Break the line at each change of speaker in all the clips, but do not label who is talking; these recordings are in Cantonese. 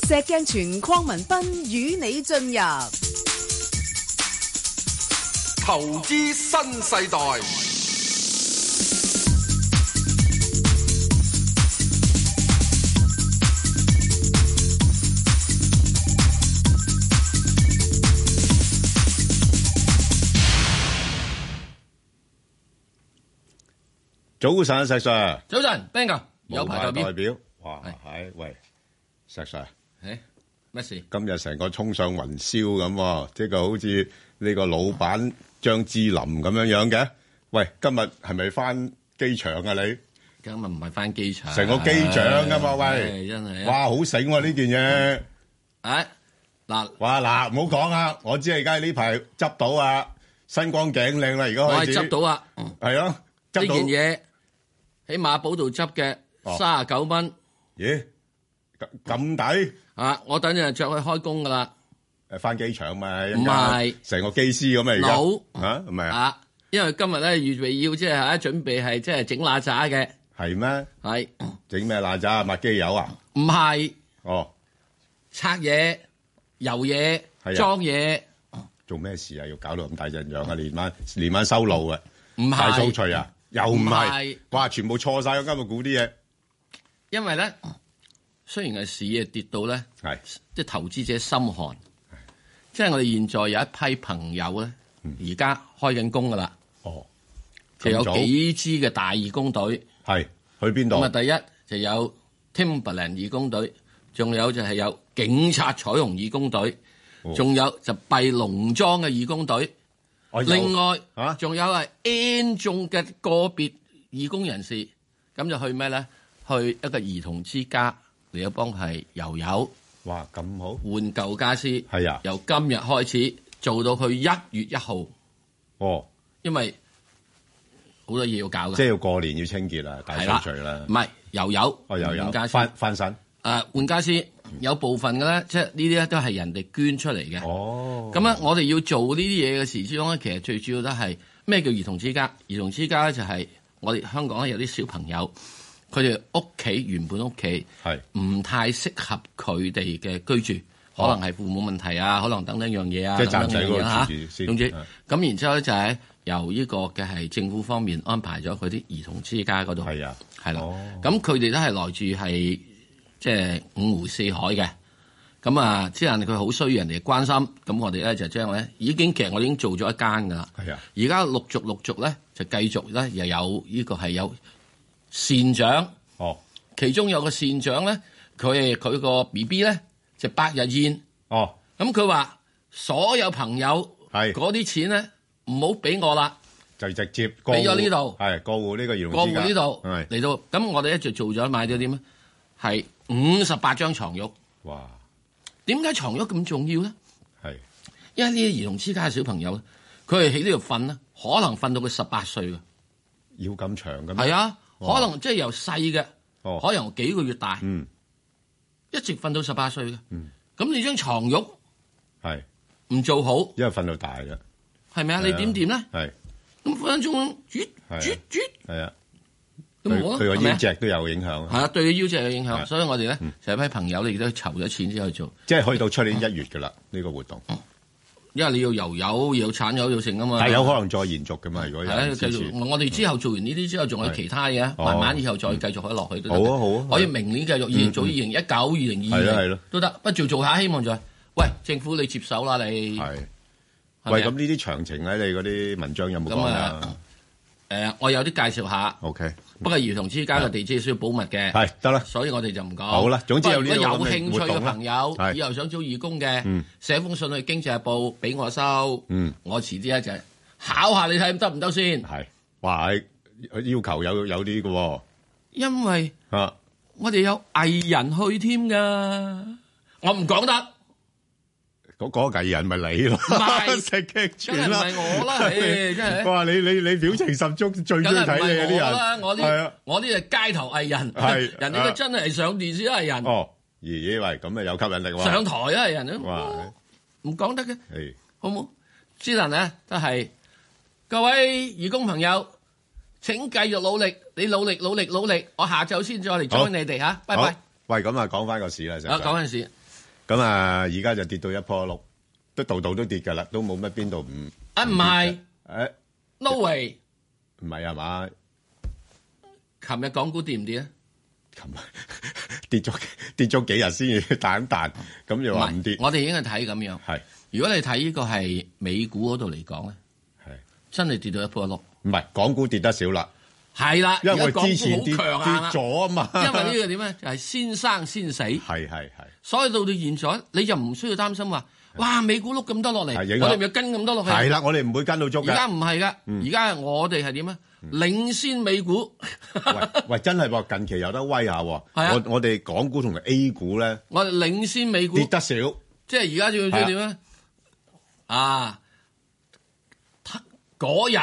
石鏡泉鄺民彬與你進入
投資新世代。
早晨，石 Sir。
早晨 ，Ben 哥，有牌代表。
哇，係喂，石 Sir。
咩事？
今日成個衝上雲霄咁，即係好似呢個老闆張智霖咁樣嘅。喂，今日係咪翻機場啊？你
今日唔係翻機場，
成個機長噶嘛？喂，
真係
哇，好醒喎呢件嘢。
嗱，
哇嗱，唔好講啊！我知而家呢排執到啊，新光頸靚啦，而家開始。
我係執到啊，
係咯，執到
呢件嘢喺馬寶度執嘅，39蚊。
咦？咁抵？
我等陣着去開工噶啦。
翻機場嘛？
唔係，
成個機師咁啊！而家唔係啊？
因為今日咧預備要即係準備係即係整邋遢嘅。
係咩？
係
整咩邋遢？抹機油啊？
唔係。
哦，
拆嘢、油嘢、裝嘢。
做咩事啊？要搞到咁大陣仗啊？連晚收路啊？
唔係
大掃除啊？又唔係？哇！全部錯晒，今日估啲嘢。
因為咧，雖然係市啊跌到咧，即係投資者心寒。即係我哋現在有一批朋友咧，而家開緊工噶啦。
哦，
就有幾支嘅大義工隊。
係去邊度？
咁啊，第一就有 Timberland 義工隊，仲有就係有警察彩虹義工隊，仲有就閉農莊嘅義工隊。另外仲有係 N 眾嘅個別義工人士，咁就去咩咧？去一個兒童之家嚟到幫係油油。
哇，咁好！
換舊家私
係啊，
由今日開始做到去1月1號。
哦，
因為好多嘢要搞嘅，
即係要過年要清潔啦，大掃除啦。
唔係油油，
油油翻新。
換家私有部分嘅咧，即係呢啲咧都係人哋捐出嚟嘅。
哦，
咁咧我哋要做呢啲嘢嘅時之中咧，其實最主要都係咩叫兒童之家？兒童之家咧就係我哋香港咧有啲小朋友。佢哋屋企原本屋企唔太適合佢哋嘅居住，可能係父母問題啊，可能等等樣嘢啊，
即係暫時嗰
個
住先。
總之，咁然之後咧就係由呢個嘅係政府方面安排咗佢啲兒童之家嗰度。
係啊，
係啦。咁佢哋都係來自係即係五湖四海嘅。咁啊，即係佢好需要人哋關心。咁我哋咧就將咧其實我已經做咗一間㗎啦。
係啊。
而家陸續咧就繼續咧又有呢個係有。善長，其中有個善長咧，佢個 BB 咧就8日宴，咁佢話所有朋友嗰啲錢咧唔好俾我啦，
就直接
俾咗呢度，
過戶呢個兒童之家，
過戶呢度嚟到，咁我哋一直做咗買咗點咧，係58張床褥。
哇！
點解床褥咁重要咧？
係
因為呢啲兒童之家嘅小朋友咧，佢係喺呢度瞓啦，可能瞓到佢18歲嘅，
要咁長嘅咩？
係啊。可能即係由細嘅，可能幾個月大，一直瞓到18歲嘅。咁你張床褥係唔做好，
因為瞓到大嘅，
係咪啊？你點掂咧？
係
咁分分鐘啜，
係啊，
咁冇啊，
對個腰脊都有影響。
係啊，對個腰脊有影響。所以我哋咧就一批朋友，你亦都籌咗錢之後做，
即係可以到出年1月㗎啦。呢個活動。
因為你要油油，要產油，要成噶嘛。
但係有可能再延續噶嘛？如果有
繼續，我哋之後做完呢啲之後，仲有其他嘢，慢慢以後再繼續可以落去都得。
好啊，好啊，
可以明年繼續，做2019、2020都得。不做下，希望就係，喂，政府你接手啦，你
係。喂，咁呢啲詳情喺你嗰啲文章有冇講啊？
我有啲介紹下。
OK。
不過兒童之家嘅地址需要保密嘅。
係得啦。
所以我哋就唔講。
好啦，總之有呢個
如果有興趣嘅朋友，以後想做義工嘅，寫封信去《經濟日報》俾我收。我遲啲咧就考下你睇得唔得先。係。
哇！要求有啲嘅喎。
因為我哋有藝人去添㗎，我唔講得。
嗰個藝人咪你咯，食劇全啦，
梗係唔係我啦，真係。
哇！你表情十足，最中意睇你啊啲人。
我啲係街頭藝人，人哋都真係上電視藝人。
哦，咦喂，咁啊有吸引力喎。
上台啊藝人啊，唔講得嘅，好冇？之能咧都係各位義工朋友，請繼續努力，你努力，我下晝先再嚟 join 你哋嚇，拜拜。
喂，咁啊講翻個市啦，
講緊市。
咁啊，而家就跌到一坡六，都度度都跌㗎啦，都冇乜邊度唔
唔係，no way，
唔係係嘛？
琴日港股跌唔跌啊？
琴日跌咗幾日先至彈彈，咁又話唔跌。
我哋應該睇咁樣。
係，如
果你睇呢個係美股嗰度嚟講咧，係真係跌到一坡六。
唔係，港股跌得少啦。係
啦，
因為我之前跌
咗
啊嘛。
因為呢個點咧，就係先生先死。
係。
所以到現在，你就唔需要擔心話，哇，美股碌咁多落嚟，我哋咪跟咁多落去。係啦，
我哋唔會跟到足嘅。
而家唔係㗎，而家我哋係點啊？領先美股。
喂，真係喎，近期有得威下喎。我哋港股同 A 股咧，
我哋領先美股
跌得少。
即係而家仲要點咧？嗰日。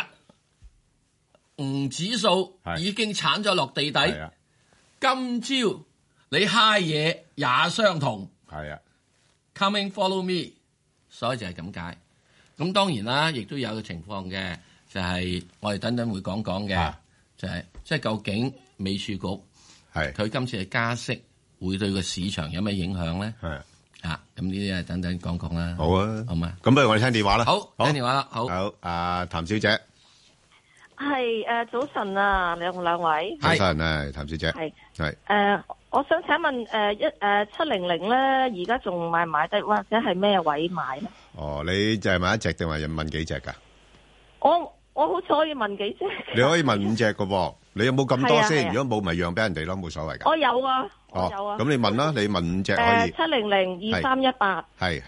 指數已經鏟咗落地底，今朝你嗨嘢也相同。
係啊
，Coming follow me， 所以就係咁解。咁當然啦，亦都有個情況嘅，就係我哋等等會講嘅，就係即係究竟美儲局佢今次嘅加息會對個市場有咩影響咧？係咁呢啲等等講講啦。
好啊，
好嘛。
咁不如我哋聽電話啦。
好，聽電話啦。好，
譚小姐。
係早晨啊，兩位。
早晨啊，譚小姐。
係我想請問700咧，而家仲買唔買得，或者係咩位買咧？
哦，你就係問一隻定係問幾隻噶？
我好似可以問幾隻。
你可以問5隻噶噃，你有冇咁多先？如果冇，咪讓俾人哋咯，冇所謂噶。
我有啊，我有啊。
咁你問啦，你問5隻可以。
700 2318。
係。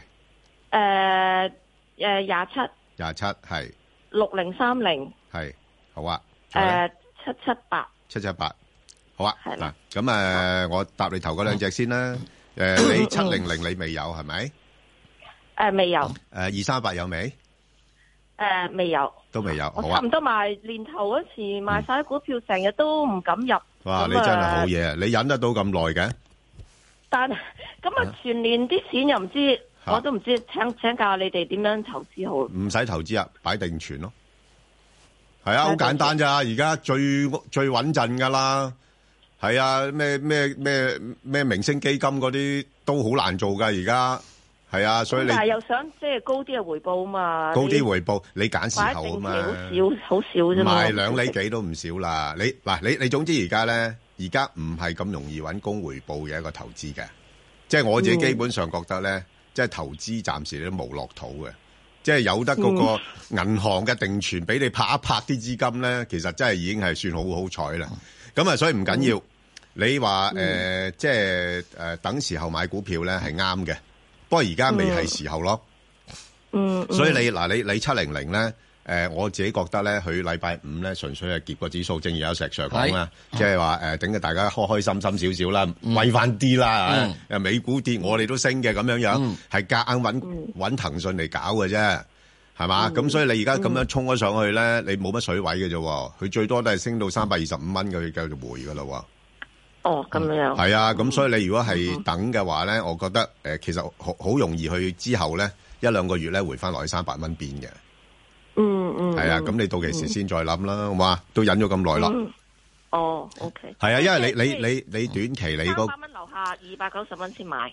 27。
27係。
6030。
係。好啊
，778，
好啊，係啦。咁我答你頭嗰2隻先啦。你700你未有係咪？
未有。
238有未？
未有。
都未有。
我差唔多年頭嗰時賣晒股票，成日都唔敢入。
哇！你真係好嘢，你忍得到咁耐嘅？
但咁全年啲錢又唔知，我都唔知，請教你哋點樣投資好？
唔使投資啊，擺定存咯。係啊，好簡單咋，而家最穩陣噶啦。係啊，咩明星基金嗰啲都好難做噶，而家係啊，所以你但係
又想即係高啲嘅回報啊嘛，
高啲回報你揀時候啊嘛，
好少啫嘛，
賣2厘幾都唔少啦。你總之而家咧，而家唔係咁容易揾高回報嘅一個投資嘅，即係我自己基本上覺得咧，即係投資暫時都無樂土嘅。即係有得嗰個銀行嘅定存俾你拍一拍啲資金咧，其實真係已經係算好彩啦。咁所以唔緊要。你話即係等時候買股票咧係啱嘅，不過而家未係時候咯。所以你700咧，我自己覺得咧，佢禮拜5咧純粹係結個指數，正如有石 Sir 講啦，即係話等嘅大家開心心少少啦，威翻啲啦。美股跌，我哋都升嘅咁樣，係夾硬揾騰訊嚟搞嘅啫，係嘛？咁所以你而家咁樣衝咗上去咧，你冇乜水位嘅啫，佢最多都係升到325蚊嘅，佢繼續回噶啦。
哦，咁樣。係
啊，咁所以你如果係等嘅話咧，我覺得其實好容易去之後咧1-2個月咧回翻落去300蚊邊嘅。係啊，咁你到期時先再諗啦，好嘛？都忍咗咁耐啦。
哦 ，OK。
係啊，因為你短期你嗰
300蚊樓下290蚊先買。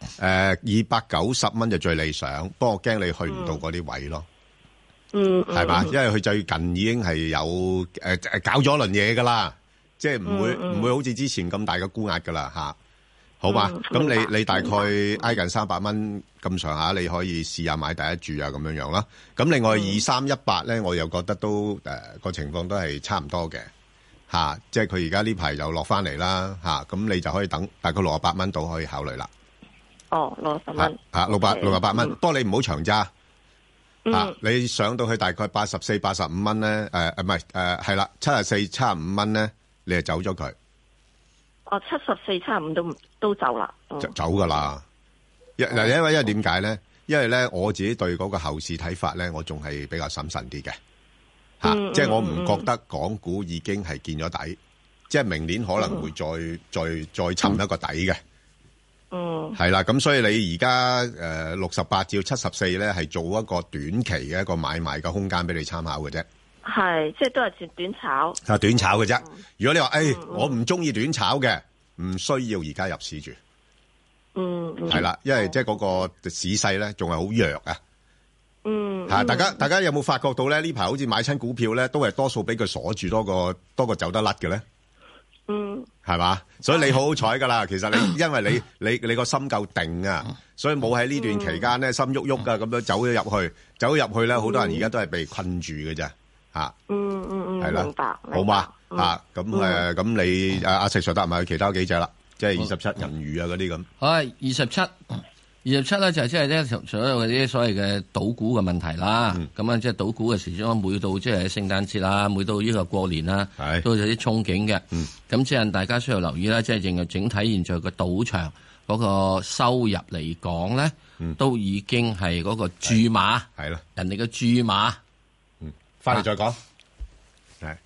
290蚊就最理想，不過我驚你去唔到嗰啲位咯。係嘛？因為佢最近已經係有搞咗輪嘢噶啦。即係唔會好似之前咁大嘅沽壓噶啦吓，好嘛？咁你大概挨近300蚊咁上下，你可以試下買第一注啊咁樣啦。咁另外2318咧，我又覺得都個情況都係差唔多嘅吓，即係佢而家呢排又落翻嚟啦吓，咁你就可以等大概68蚊度可以考慮啦。
哦，68蚊
吓，68蚊，不過你唔好長揸吓，你上到去大概84、85蚊咧，唔係係啦，74、75蚊咧。你就走咗佢？
哦，74、75都走啦，
就走噶啦。因為點解咧？因為咧我自己對嗰個後市睇法咧，我仲係比較審慎啲嘅吓，即係我唔覺得港股已經係見咗底，即係明年可能會再尋一個底嘅。係啦，咁所以你而家68至74咧，係做一個短期嘅一個買賣嘅空間俾你參考嘅啫。
係，即係都係短炒。
短炒嘅啫。如果你話我唔中意短炒嘅，唔需要而家入市住。 係啦，因為即係嗰個市勢咧仲係好弱啊。大家有冇發覺到咧？呢排好似買親股票咧，都係多數俾佢鎖住多過走得甩嘅咧。係嘛？所以你好彩噶啦。其實你因為你個心夠定啊，所以冇喺呢段期間咧心喐喐啊咁樣走咗入去咧，好多人而家都係被困住嘅啫。係啦，
明白，
好嘛？咁你阿石 Sir 答埋其他幾隻啦，即係27銀娛啊嗰啲咁。
好，27咧就係即係咧所有嗰啲所謂嘅賭股嘅問題啦。咁啊，即係賭股嘅時鐘，每到即係聖誕節啦，每到呢個過年啦，都有啲憧憬嘅。咁即係大家需要留意啦，即係整體現在個賭場嗰個收入嚟講咧，都已經係嗰個注碼係啦，人哋嘅注碼。
翻嚟再講。係。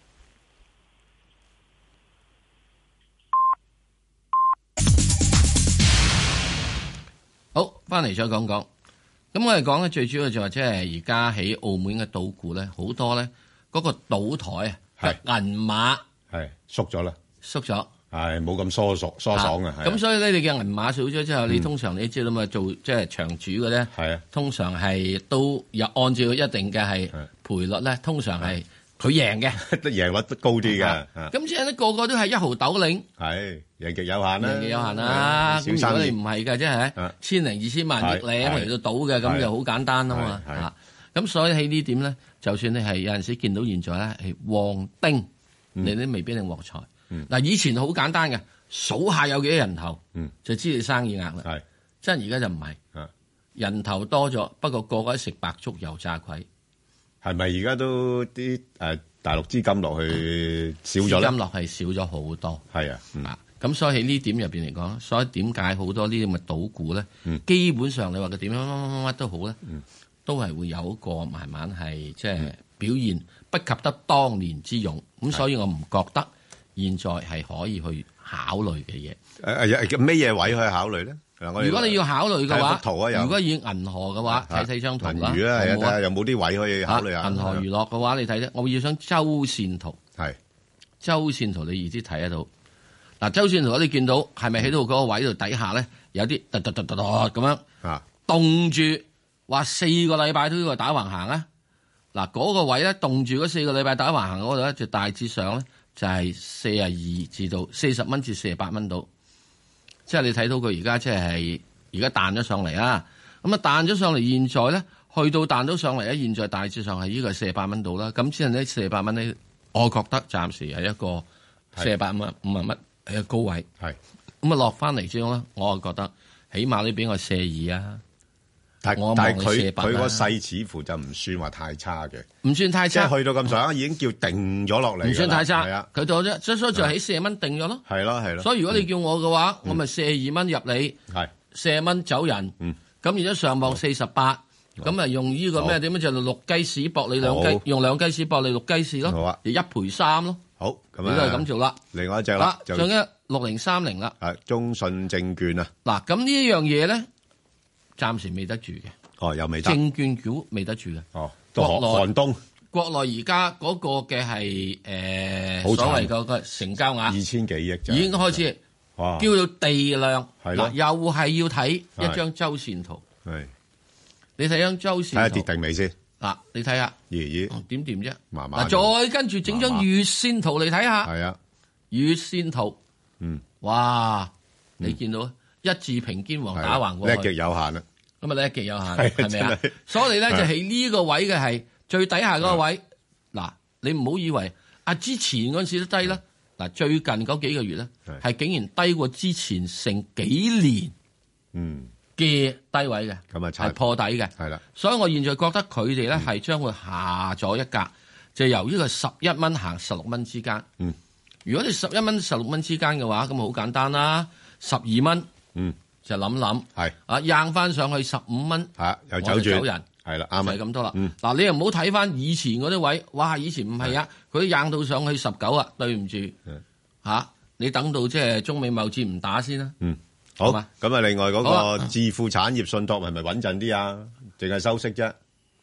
好，翻嚟再講講。咁我哋講咧，最主要就係即係而家喺澳門嘅賭股咧，好多咧嗰個賭台啊，銀碼
係縮咗啦，
縮咗，
係冇咁疏爽啊。
咁所以咧，你嘅銀碼少咗之後，你通常你知道嘛，做即係場主嘅咧，係啊，通常係都有按照一定嘅係賠率咧，通常係佢贏嘅，
贏率都高啲嘅。
咁即係咧，個個都係1毫斗領，
係贏極有限啦，
贏極有限啦。咁如果你唔係嘅，即係千零2000萬億領嚟到賭嘅，咁就好簡單啊嘛。咁所以喺呢點咧，就算你係有陣時見到現在咧係旺丁，你都未必定獲財。嗱，以前好簡單嘅，數下有幾多人頭，就知你生意額啦。係，真係而家就唔係，人頭多咗，不過個個都食白粥油炸鬼。
係咪而家都啲大陸資金落去少咗咧？資金落係少咗好多。係啊，
咁所以喺呢點入邊嚟講，所以點解好多呢啲咁嘅賭股咧，基本上你話佢點樣乜都好咧，都係會有一個慢慢係即係表現不及得當年之勇。咁所以我唔覺得現在係可以去考慮嘅嘢。
咩嘢位可以考慮咧？
如果你要考慮嘅話，
圖
如果以銀河嘅話，睇張圖啦。
銀娛啊，睇下有冇啲位可以考慮下。
銀河娛樂嘅話，你睇咧，我要想周線圖。係周線圖，你易啲睇得到。嗱，周線圖你見到係咪喺度嗰個位度底下咧，有啲突咁樣凍住，話4個禮拜都要打橫行啊！嗱，嗰個位咧凍住嗰4個禮拜打橫行嗰度咧，就大致上咧就係42至到40蚊至48蚊度。即係你睇到佢而家即係而家彈咗上嚟啊！咁啊彈咗上嚟，現在咧去到彈咗上嚟咧，現在大致上係呢個48蚊度啦。咁之後呢48蚊咧，我覺得暫時係一個48蚊50蚊係個高位。係咁啊落翻嚟之後咧，我就覺得起碼你俾我42啊！
但係佢個勢似乎就唔算話太差嘅，
唔算太差，
即係去到咁上下已經叫定咗落嚟，
唔算太差。
係啊，
佢到咗，所以就喺40蚊定咗咯。
係咯係咯。
所以如果你叫我嘅話，我咪42蚊入你，係40蚊走人。咁而家上望48，咁啊用呢個咩點樣就6雞屎搏你2雞，用2雞屎搏你6雞屎咯。好啊，就1賠3咯。好，咁你都係咁做啦。另外一隻啦，仲有6030啦。係中信證券啊。嗱，咁呢一樣嘢咧。暫時未得住嘅，又未得。證券股未得住嘅，寒冬。國內而家嗰個嘅係所謂嗰個成交額
2000幾億，
已經開始叫做地量。嗱，又係要睇一張周線圖。係，你睇張周線圖。睇下跌定未先。嗱，你睇下，點掂啫？慢慢。嗱，再跟住整張月線圖嚟睇下。係啊，月線圖。哇，你見到一字平肩橫打橫過去，
叻極有限啦。
咁啊，叻極有限，係咪啊？所以你咧就喺呢個位嘅係最底下嗰個位。嗱，你唔好以為之前嗰陣時都低啦。嗱，最近嗰幾個月咧係竟然低過之前成幾年嘅低位嘅，咁啊係破底嘅。係啦，所以我現在覺得佢哋咧係將會下咗一格，就由呢個11蚊行16蚊之間。如果你11蚊16蚊之間嘅話，咁好簡單啦，12蚊。就諗係硬翻上去15蚊，又走人，係啦，啱係咁多啦。嗱，你又唔好睇翻以前嗰啲位，哇！以前唔係啊，佢硬到上去19啊，對唔住你等到即係中美貿戰唔打先啦。好嘛，咁啊，另外嗰個置富產業信託係咪穩陣啲啊？淨係收息啫？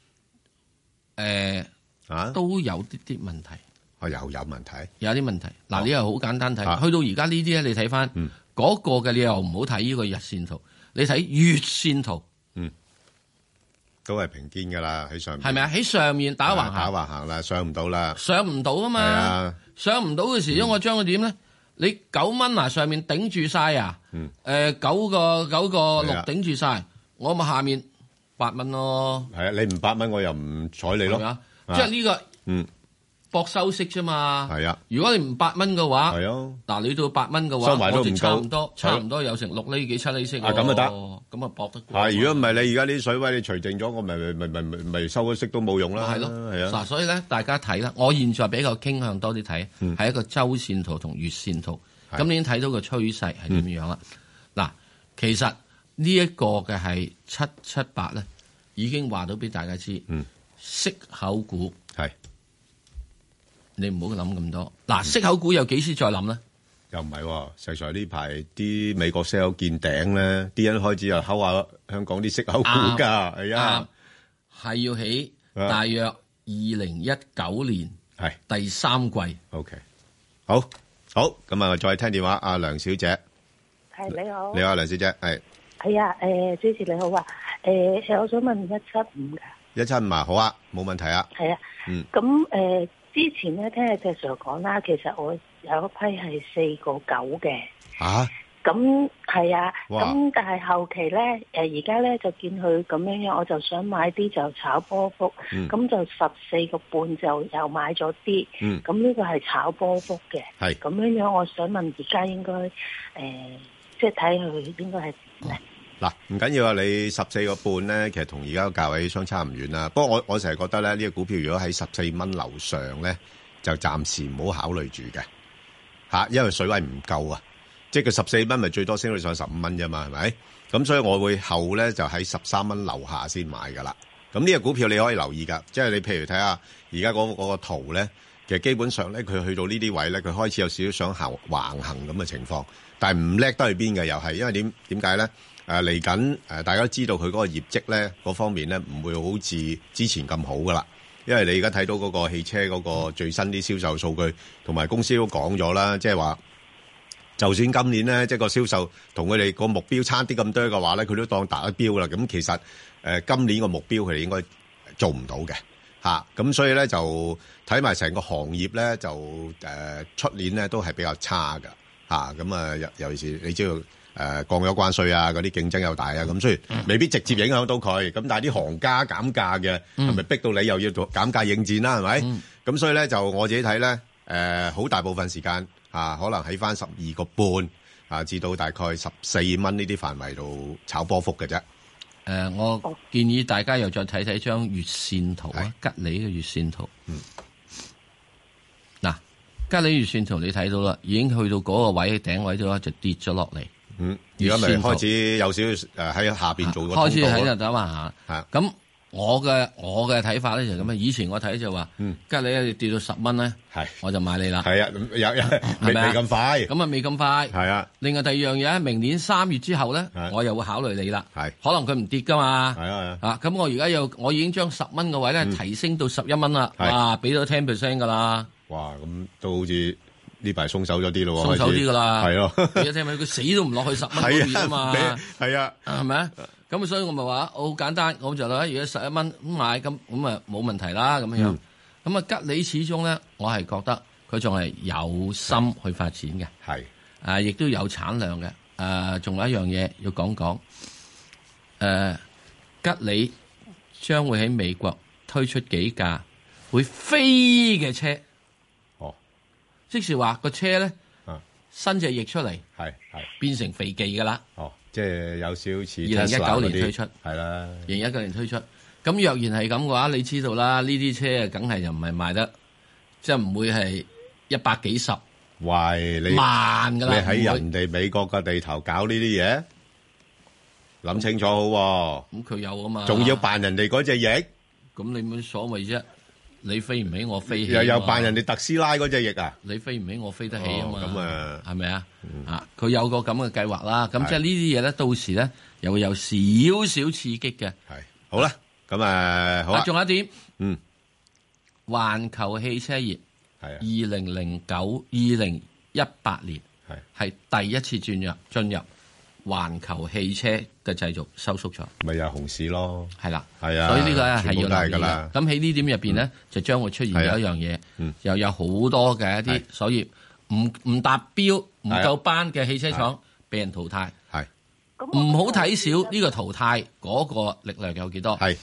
都有啲問題。又有問題？有啲問題。嗱，你又好簡單睇，去到而家呢啲咧，你睇翻。 嗰個嘅你又唔好睇呢個日線圖，你睇月線圖，
都係平肩噶啦，喺上面係
咪啊？喺上面打橫行，
打橫行啦，上唔到啦，
上唔到啊嘛，上唔到嘅時候，我將佢點咧？你9蚊啊，上面頂住晒啊，9個6頂住晒，我咪下面8蚊咯。係啊，
你唔8蚊，我又唔睬你咯。
即係呢個博收息啫嘛。係啊，如果你唔8蚊嘅話，係啊，嗱你到8蚊嘅話，我哋差唔多有成6厘幾7厘息。咁就得，咁啊搏得過。係，如果唔係你而家啲水位你除淨咗，我咪收咗息都冇用啦。係咯，係啊。嗱，所以咧大家睇啦，我現在比較傾向多啲睇，係一個周線圖同月線圖。咁你已經睇到個趨勢係點樣啦？嗱，其實呢一個嘅係778咧，已經話到俾大家知，息口股係你唔好諗咁多。嗱，息口股有幾時再諗咧？又唔係喎，實在呢排啲美國息口見頂咧，啲人開始又睺下香港啲息口股㗎，係啊，係要起大約2019年係第3季。OK， 好，咁啊，再聽電話，阿梁小姐。係你好。你好，梁小姐，係。係啊，主持你好啊，我想問175㗎。175啊，好啊，冇問題啊。係啊。咁之前咧聽阿石 Sir 講啦，其實我有一批係4.9嘅。嚇？咁係啊。咁但係後期咧，而家咧就見佢咁樣，我就想買啲就炒波幅。咁就14.5就又買咗啲。咁呢個係炒波幅嘅。係。咁樣，我想問而家應該即係睇佢應該係點咧？嗱，唔緊要啊！你14.5咧，其實同而家個價位相差唔遠啦。不過我成日覺得咧，呢個股票如果喺14蚊樓上咧，就暫時唔好考慮住嘅嚇，因為水位唔夠啊。即係佢14蚊，咪最多升到上15蚊啫嘛，係咪？咁所以我會後咧就喺13蚊樓下先買噶啦。咁呢個股票你可以留意㗎，即係你譬如睇下而家嗰個圖咧，其實基本上咧佢去到呢啲位咧，佢開始有少少想橫行咁嘅情況，但係唔叻得去邊嘅又係，因為點解咧？嚟緊大家都知道佢嗰個業績咧嗰方面咧唔會好似之前咁好噶啦，因為你而家睇到嗰個汽車嗰個最新啲銷售數據，同埋公司都講咗啦，即係話就算今年咧即係個銷售同佢哋個目標差啲咁多嘅話咧，佢都當達咗標啦。咁其實今年個目標佢哋應該做唔到嘅嚇，咁所以咧就睇埋成個行業咧就出年咧都係比較差㗎嚇，咁啊尤其是你知道。降咗關稅啊，嗰啲競爭又大啊，咁所以未必直接影響到佢。咁但係啲行家減價嘅，係咪逼到你又要做減價應戰啦？係咪？咁所以咧就我自己睇咧，好大部分時間可能喺翻12.5至到大概14蚊呢啲範圍度炒波幅嘅啫。我建議大家又再睇睇張月線圖啊，吉利嘅月線圖。嗱，吉利月線圖你睇到啦，已經去到嗰個位頂位度就跌咗落嚟。而家咪開始有少少喺下邊做個開始喺度走下嚇。咁我嘅睇法咧就咁啊。以前我睇就話，吉利跌到10蚊咧，我就買你啦。係啊，未咁快。咁啊，未咁快。係啊。另外第二樣嘢，明年3月之後咧，我又會考慮你啦。係。可能佢唔跌噶嘛。係啊。啊，咁我而家我已經將10蚊嘅位咧提升到11蚊啦。哇，俾咗10% 噶啦。哇，咁都好似。呢排鬆手咗啲咯，鬆手啲噶啦，係咯。而家聽聞佢死都唔落去10蚊嗰邊啊嘛，係啊，係咪啊？咁所以我咪話好簡單，我就諗如果11蚊咁買，咁啊冇問題啦咁樣。咁啊吉利始終咧，我係覺得佢仲係有心去發展嘅，係亦都有產量嘅。仲有一樣嘢要講講，吉利將會喺美國推出幾架會飛嘅車。即是話個車咧，伸隻翼出嚟，係變成肥技噶啦。哦，即係有少少似2019年推出，係啦。2019年推出，咁若然係咁嘅話，你知道啦，呢啲車啊，梗係就唔係賣得，即係唔會係100幾十，喂，你慢噶啦。你喺人哋美國嘅地頭搞呢啲嘢，諗清楚好。咁佢有啊嘛，仲要扮人哋嗰隻翼，咁你冇所謂啫。你飛唔起，我飛起。又扮人哋特斯拉嗰隻翼啊！你飛唔起，我飛得起啊嘛。咁啊，係咪啊？佢有個咁嘅計劃啦。咁即係呢啲嘢咧，到時咧又會有少少刺激嘅。係好啦，咁好啦。仲有一點，環球汽車業係2018年係第一次進入環球汽車嘅製造收縮咗，
咪又係熊市咯。
係啦，
係啊，
所以呢個咧係要留意
啦。
咁喺呢點入邊咧，就將會出現咗一樣嘢，又有好多嘅一啲，所以唔達標、唔夠班嘅汽車廠被人淘汰。係唔好睇少呢個淘汰嗰個力量有幾多？係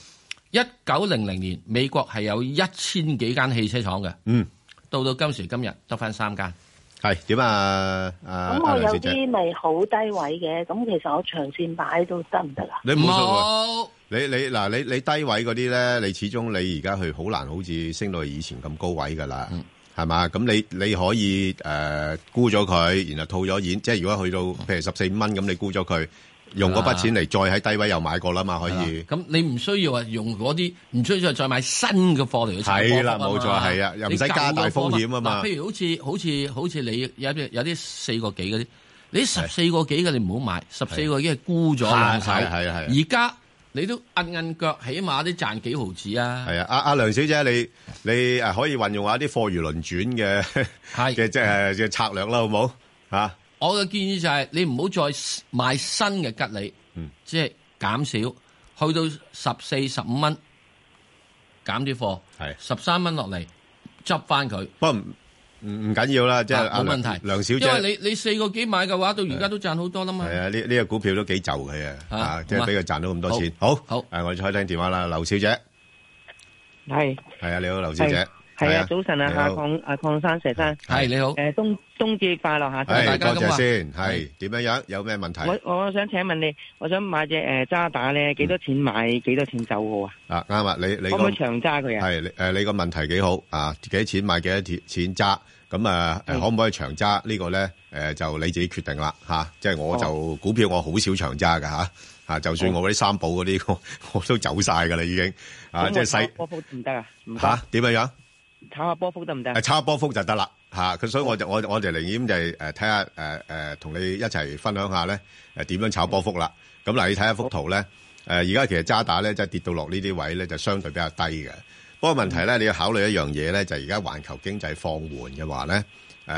1900年美國係有1000幾間汽車廠嘅，到今時今日得翻3間。係點啊？
咁我有啲咪好低位嘅，咁其實我長線擺都得唔得啊？
你唔好，你嗱你低位嗰啲咧，你始終你而家去好難，好似升到以前咁高位噶啦，係嘛？咁你可以沽咗佢，然後套咗現，即係如果去到譬如14-15蚊咁，你沽咗佢。用嗰筆錢嚟再喺低位又買過啦嘛，可以。咁
你唔需要話用嗰啲，唔需要再買新嘅貨嚟去炒波幅。係啦，
冇錯，係啊，又唔使加大風險啊嘛。
譬如好似你有啲4個幾嗰啲，你14個幾嘅你唔好買，14個幾係沽咗兩手。係。而家你都摁腳，起碼都賺幾毫子啊。係啊，阿梁小姐，你可以運用下啲貨如輪轉嘅即係嘅策略啦，好唔好嚇？我嘅建議就係你唔好再買新嘅吉利，即係減少，去到14、15蚊減啲貨，係13蚊落嚟執翻佢。不過唔緊要啦，即係冇問題。梁小姐，因為你4個幾買嘅話，到而家都賺好多啦嘛。係啊，呢個股票都幾就佢啊，即係俾佢賺到咁多錢。好，我哋再聽電話啦，劉小姐。係啊，你好，劉小姐。
係啊，早晨啊，阿鄺生、石生，
係你好。
冬至快樂吓，
大家多謝先。係點樣？有咩問題？
我想請問你，我想買隻渣打咧，幾多錢買？幾多錢走好啊？
啱啊，你
可唔可以長揸佢啊？
係你個問題幾好啊？幾多錢買？幾多錢揸？咁可唔可以長揸？呢個咧就你自己決定啦吓。即係我就股票我好少長揸噶吓，就算我嗰啲三寶嗰啲我都走晒噶啦已經啊，即係細
波幅唔得啊？
吓點樣？
炒下波幅得唔得？
炒下波幅就得啦嚇，咁所以我哋寧願就係睇下同你一齊分享下咧點樣炒波幅啦。咁嗱，你睇下幅圖咧而家其實渣打咧即係跌到落呢啲位咧就相對比較低嘅。不過問題咧你要考慮一樣嘢咧，就係而家環球經濟放緩嘅話咧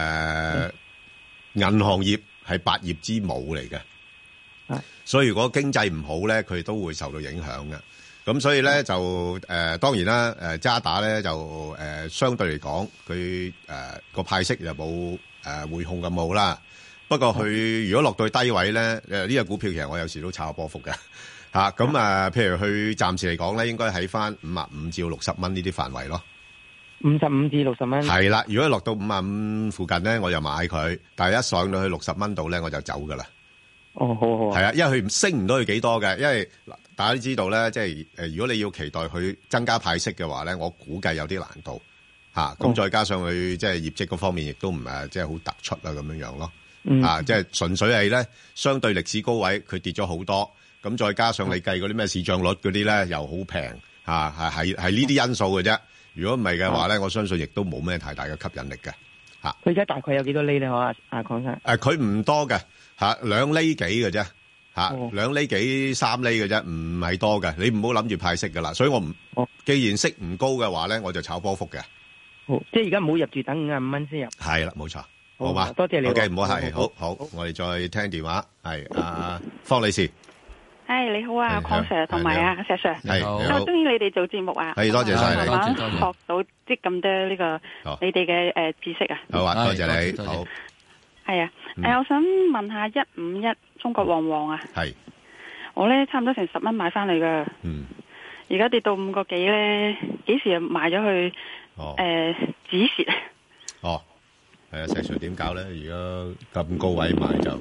銀行業係百業之母嚟嘅，所以如果經濟唔好咧，佢都會受到影響嘅。咁所以咧就當然啦，渣打咧就相對嚟講，佢個派息就冇匯控咁好啦。不過佢如果落到去低位咧，呢個股票其實我有時都炒下波幅嘅嚇。咁譬如佢暫時嚟講咧，應該喺翻55至60蚊呢啲範圍咯。
55至60蚊。係啦，
如果落到55附近咧，我就買佢。但係一上到去60蚊度咧，我就走噶啦。
哦，好。
係啊，因為佢升唔到佢幾多嘅，因為大家都知道咧，即係如果你要期待佢增加派息嘅話咧，我估計有啲難度嚇。咁再加上佢即係業績嗰方面亦都唔係即係好突出啊咁樣樣咯。即係純粹係咧相對歷史高位佢跌咗好多，咁再加上你計嗰啲咩市賬率嗰啲咧又好平嚇，係呢啲因素嘅啫。如果唔係嘅話咧，我相信亦都冇咩太大嘅吸引力嘅嚇。
佢而家大概有幾多厘咧？我阿鄺生
佢唔多嘅2厘幾嘅啫。2厘幾3厘嘅啫，唔係多嘅。你唔好諗住派息噶啦，所以我唔，既然息唔高嘅話咧，我就炒波幅嘅。
好，即係而家唔好入住，等55蚊先入。
係啦，冇錯，好嘛？
多謝你。
OK，唔好客氣，好，我哋再聽電話。係阿方女士。
係你好啊，鄺 Sir 同埋阿石 Sir。
係
我中意你哋做節目啊。
係多謝晒你。
學到即咁多呢個你哋嘅知識啊。
好啊，多謝你。好。
係啊，我想問下151中國旺旺啊。係。我咧差唔多成10蚊買翻嚟噶。而家跌到5個幾咧，幾時又賣咗去？止蝕。
係啊，石 Sir 點搞咧？而家咁高位買就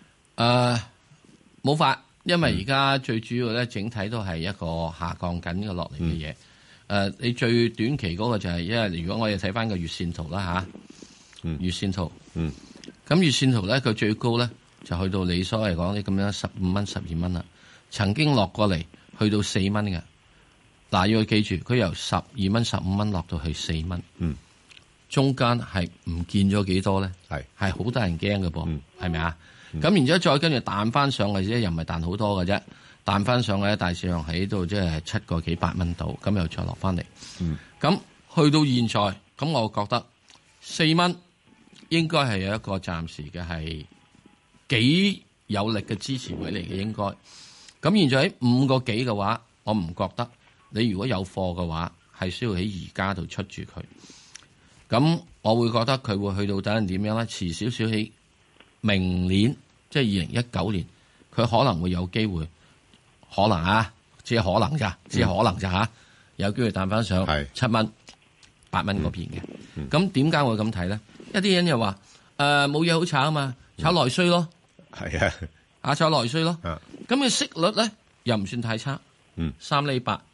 冇法，因為而家最主要咧，整體都係一個下降緊嘅落嚟嘅嘢。你最短期嗰個就係，因為如果我哋睇翻個月線圖啦吓，月線圖，咁月線圖咧，佢最高咧就去到你所謂講啲咁樣15蚊、12蚊啦，曾經落過嚟去到4蚊嘅。嗱，要記住，佢由12蚊、15蚊落到去4蚊，中間係唔見咗幾多咧？係好得人驚嘅噃，係咪啊？咁然之後再跟住彈翻上嚟啫，又唔係彈好多嘅啫，彈翻上嚟大市上喺度即係7個幾8蚊度，咁又再落翻嚟。咁去到現在，咁我覺得4蚊應該係有一個暫時嘅係幾有力嘅支持位嚟嘅應該。咁現在喺5個幾嘅話，我唔覺得你如果有貨嘅話，係需要喺而家度出住佢。咁我會覺得佢會去到等陣點樣咧？遲少少喺明年，即係2019年，佢可能會有機會，可能啊，只係可能咋，有機會彈翻上7蚊、8蚊嗰邊嘅。咁點解我會咁睇咧？一啲人又話冇嘢好炒啊嘛，炒內需咯，
係啊，
炒內需咯。咁嘅息率咧又唔算太差，3厘8，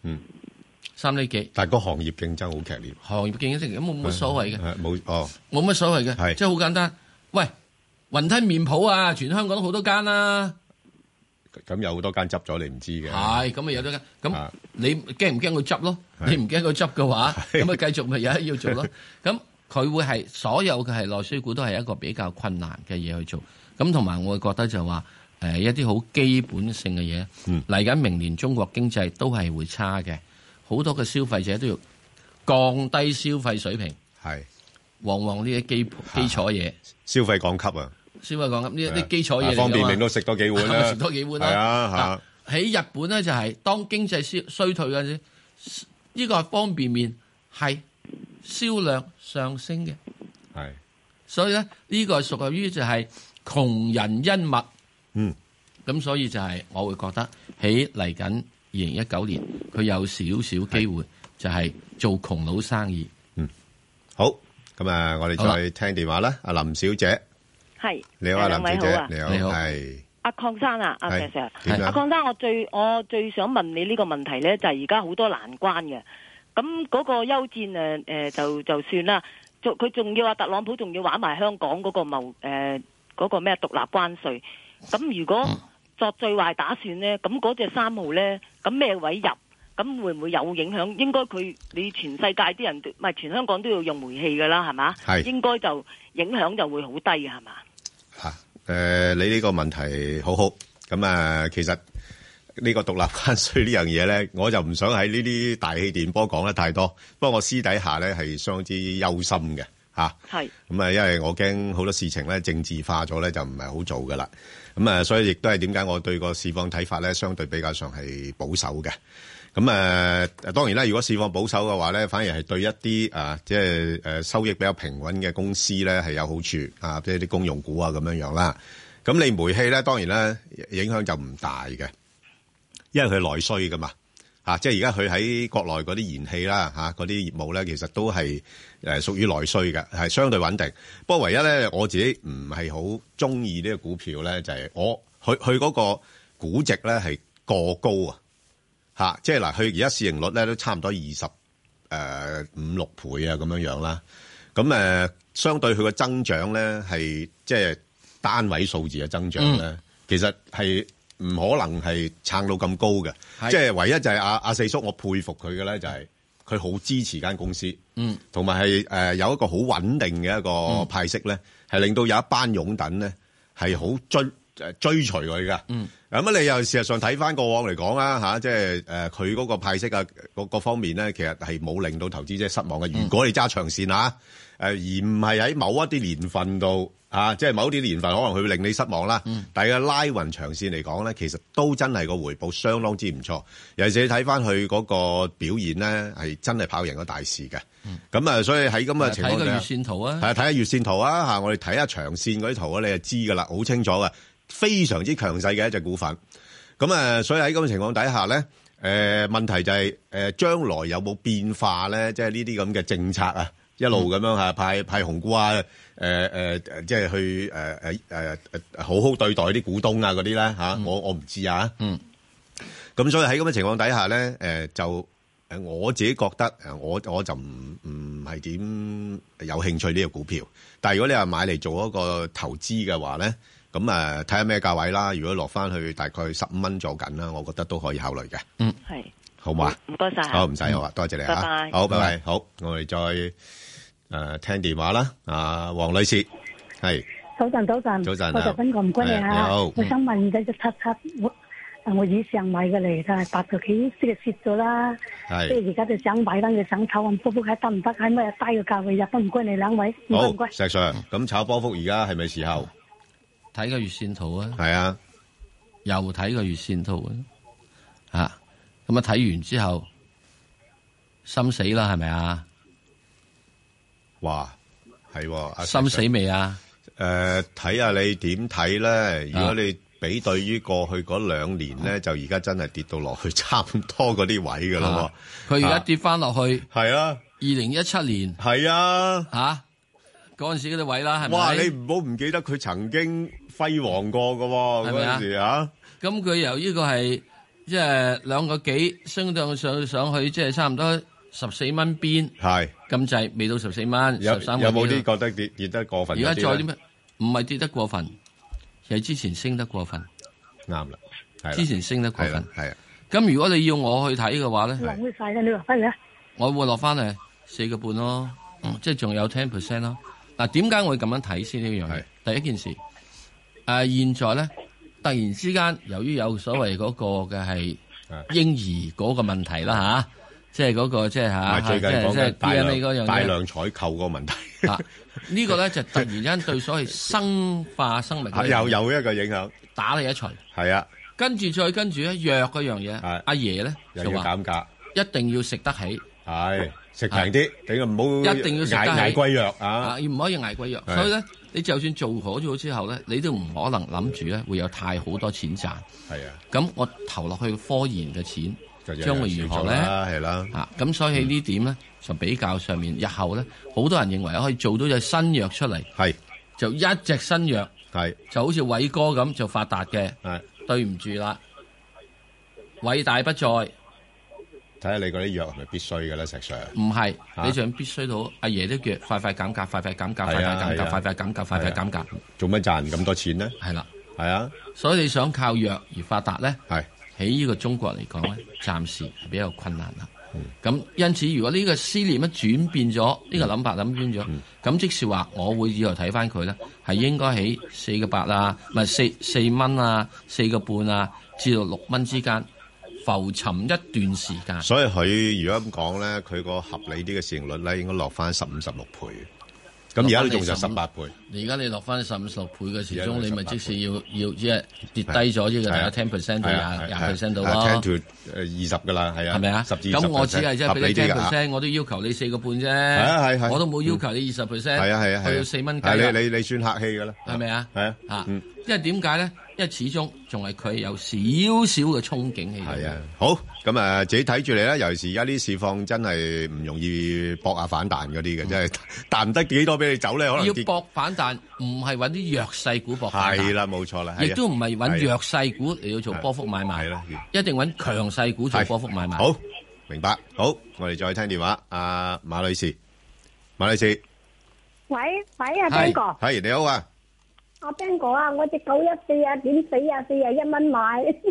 3厘幾。
但係個行業競爭好劇烈，
行業競爭咁冇乜所謂嘅，
冇
乜所謂嘅，即係好簡單。喂，雲吞麵鋪啊，全香港都好多間啦。
咁有好多間執咗，你唔知嘅。
係，咁咪有多間。咁你驚唔驚佢執咯？你唔驚佢執嘅話，咁咪繼續咪有得要做咯。咁佢會係所有嘅係內需股都係一個比較困難嘅嘢去做。咁同埋我會覺得就話一啲好基本性嘅嘢嚟緊，明年中國經濟都係會差嘅，好多嘅消費者都要降低消費水平。係，往往呢啲基礎嘢，
消費降級啊！消費降
級呢啲基礎嘢，
方便麵都食多幾碗啦，
食多幾碗啦。係啊，喺日本咧就係當經濟衰退嗰陣時，呢個方便麵係銷量上升嘅。係，所以咧呢個係屬於就係窮人恩物。咁所以就係我會覺得喺嚟緊2019年，佢有少少機會就係做窮佬生意。
好，咁啊，我哋再聽電話啦，阿林小姐。
係，
你好啊，林小姐，你好，
係阿鄺生啊，阿 Sir， 阿鄺生，我最想問你呢個問題咧，就係而家好多難關嘅，咁嗰個休戰就算啦，佢仲要話特朗普仲要玩埋香港嗰個嗰個咩獨立關稅，咁如果作最壞打算咧，咁嗰隻3號咧，咁咩位入？咁會唔會有影響？應該你全世界啲人唔係全香港都要用煤氣噶啦，係嘛？係應該就影響就會好低嘅，係嘛？
你呢個問題好好。咁其實呢個獨立關稅呢樣嘢咧，我就唔想喺呢啲大氣電波講得太多。不過我私底下咧係相當之憂心嘅嚇。係咁因為我驚好多事情咧政治化咗咧，就唔係好做噶啦。咁所以亦都係點解我對個市況睇法咧，相對比較上係保守嘅。咁當然啦，如果市況保守嘅話咧，反而係對一啲即係收益比較平穩嘅公司咧係有好處即係啲公用股啊咁樣啦。咁你煤氣咧，當然咧影響就唔大嘅，因為佢內需噶嘛即係而家佢喺國內嗰啲燃氣啦嗰啲業務咧，其實都係屬於內需嘅，係相對穩定。不過唯一咧，我自己唔係好中意呢個股票咧，就係佢嗰個估值咧係過高啊！即係嗱，佢而家市盈率咧都差唔多25-26倍啊，咁樣啦。咁相對佢個增長咧係即係單位數字嘅增長咧，其實係唔可能係撐到咁高嘅。即係唯一就係阿四叔，我佩服佢嘅咧就係佢好支持間公司，同埋係有一個好穩定嘅一個派息咧，係令到有一班擁躉咧係好追隨佢噶。咁你又事實上睇翻過往嚟講啦即係佢嗰個派息啊各方面咧，其實係冇令到投資者失望嘅。如果你揸長線而唔係喺某一啲年份度即係某啲年份可能佢會令你失望啦。但係拉勻長線嚟講咧，其實都真係個回報相當之唔錯。尤其是你睇翻佢嗰個表現咧，係真係跑贏個大市嘅。咁所以喺咁嘅情況下，睇個月線圖睇下月線圖我哋睇下長線嗰啲圖你就知噶啦，好清楚嘅。非常之強勢嘅一隻股份，咁所以喺咁嘅情況底下咧，問題就係將來有冇變化咧？即係呢啲咁嘅政策一路咁樣派紅股即係去好好對待啲股東嗰啲咧我唔知咁所以喺咁嘅情況底下咧，就我自己覺得我就唔係點有興趣呢個股票。但係如果你話買嚟做一個投資嘅話咧，咁睇下咩價位啦。如果落翻去大概15蚊左緊啦，我覺得都可以考慮嘅。
係
好嘛？
唔該晒。
好，唔使好啊，多謝你
拜拜。
好，拜拜。好，我哋再聽電話啦。黃女士，係。
早晨，
早晨，
我就分個唔該你
好。
我想問隻777 我以上買嘅嚟，但係8個幾即係蝕咗啦。即係而家就想買啦，就想炒波幅，睇得唔得？喺咩低嘅價位入？都唔該你兩位，唔該。
石 Sir， 咁炒波幅而家係咪時候？
睇個月線圖啊。
係啊，
又睇個月線圖啊。咁啊睇完之後，心死啦，係咪啊？
哇，係
心死未啊？
睇下你點睇咧？如果你比對於過去嗰2年咧，就而家真係跌到落去差唔多嗰啲位噶啦。
佢而家跌翻落去，
係啊
，2017年
係啊，
嗰陣時嗰啲位啦，係咪？
哇！你唔好唔記得佢曾經輝煌過噶喎，嗰陣時
咁佢由呢個係即係2個幾升到上去，即係差唔多14蚊邊，
係
咁滯，未到14蚊，13
有冇啲覺得跌得過分？
而家再啲咩？唔係跌得過分，係之前升得過分。
啱啦，
之前升得過分。
係啊。
咁如果你要我去睇嘅話咧，
落去晒啦，你落翻嚟啊！
我會落翻嚟4個半咯，即係仲有10% 咯。嗱，點解我會咁樣睇先呢樣嘢？第一件事，現在咧突然之間，由於有所謂嗰個嘅係嬰兒嗰個問題啦即係嗰個即係
最近講嘅大量採購個問題。
呢個咧就突然間對所謂生化生命
有一個影響，
打你一錘。
係啊，
跟住藥嗰樣嘢，阿爺咧就話
減價，
一定要食得起，
係食平啲，你唔好
一定要食得起
捱貴藥啊，
唔可以捱貴藥。所以咧，你就算做好咗之後咧，你都唔可能諗住咧會有太好多錢賺。係啊，咁我投落去科研嘅錢。將會如何咧？
係啦，
咁所以喺呢點咧，就比較上面，日後咧，好多人認為可以做到隻新藥出嚟，就一隻新藥，就好似偉哥咁就發達嘅，對唔住啦，偉大不在。睇
下你嗰啲藥係咪必須嘅咧，石 Sir？
唔係，你仲必須到阿爺都叫快快減價，快快減價，快快減價，快快減價，快快減價。
做乜賺咁多錢咧？
係啦，
係啊，
所以你想靠藥而發達咧？
係。
喺呢個中國嚟講咧，暫時係比較困難啦。咁因此，如果呢個思念一轉變咗，呢個諗法諗轉咗，咁即是話，我會以後睇翻佢咧，係應該喺4個8啊，唔係4蚊啊，4個半啊，至到6蚊之間浮沉一段時間。
所以佢如果咁講咧，佢個合理啲嘅市盈率咧，應該落翻15、16倍。咁而家都仲就18倍。而
家你落翻15、16倍嘅時鐘，你咪即使要即係跌低咗呢個大概 10% 到20% 到咯。10 to
20㗎啦，係啊。
係咪啊？咁我只係即係俾你 10%，我都要求你4個半啫。係我都冇要求你20%。係啊，去到4蚊雞。
你算客氣㗎啦。
係咪啊？
係啊。
因為點解咧？因為始終仲係佢有少少嘅憧憬喺度。
係啊，好咁自己睇住嚟啦。尤其是而家啲市況真係唔容易搏下反彈嗰啲嘅，真係彈唔得幾多俾你走咧。可能
要搏反彈，唔係揾啲弱勢股搏反彈。
係啦，冇錯啦。
亦都唔係揾弱勢股嚟到做波幅買賣。係啦，一定揾強勢股做波幅買賣。
好，明白。好，我哋再聽電話。阿馬女士，馬女士，
喂，阿邊個？
係你好啊。
阿邊個啊？我隻914啊，點死啊？41蚊買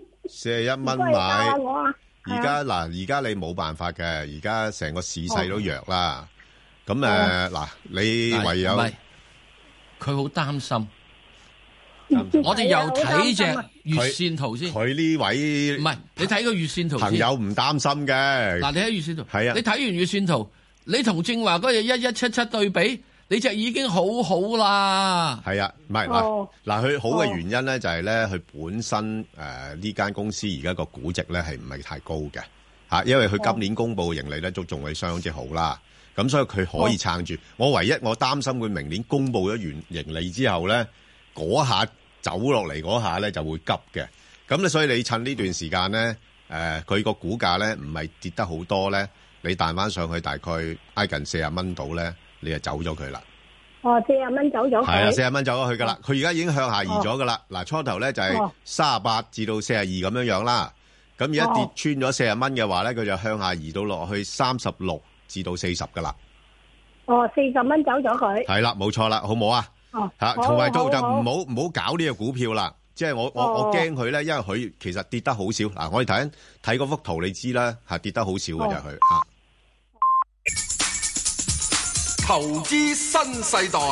，41蚊買。而家你冇辦法嘅，而家成個市勢都弱啦。咁嗱，你唯有
佢好擔心。我哋又睇隻月線圖先。
佢呢位
唔係，你睇個月線圖先。
朋友唔擔心嘅。
嗱，你睇月線圖。
係啊。
你睇完月線圖，你同正話嗰隻1177對比。你隻已經好好啦，
係啊，唔係嗱，佢好嘅原因咧就係咧，佢本身呢間公司而家個估值咧係唔係太高嘅嚇，因為佢今年公佈嘅盈利咧都仲係相當之好啦，咁所以佢可以撐住。我唯一我擔心佢明年公佈咗完盈利之後咧，嗰下走落嚟嗰下咧就會急嘅，咁咧所以你趁呢段時間咧，佢個股價咧唔係跌得好多咧，你彈翻上去大概挨近40蚊度咧。你就走咗佢啦。
40蚊走咗佢。係啊
，40蚊走咗去噶啦。佢而家已經向下移咗噶啦。嗱，初頭咧就係38至到42咁樣啦。咁而家跌穿咗40蚊嘅話咧，佢就向下移到落去36至到40噶啦。
40蚊走咗佢。係
啦，冇錯啦，好唔好啊？嚇，同埋就唔好搞呢個股票啦。即係我驚佢咧，因為佢其實跌得好少。嗱，我哋睇嗰幅圖，你知啦，係跌得好少嘅就係佢嚇。
投資新世代。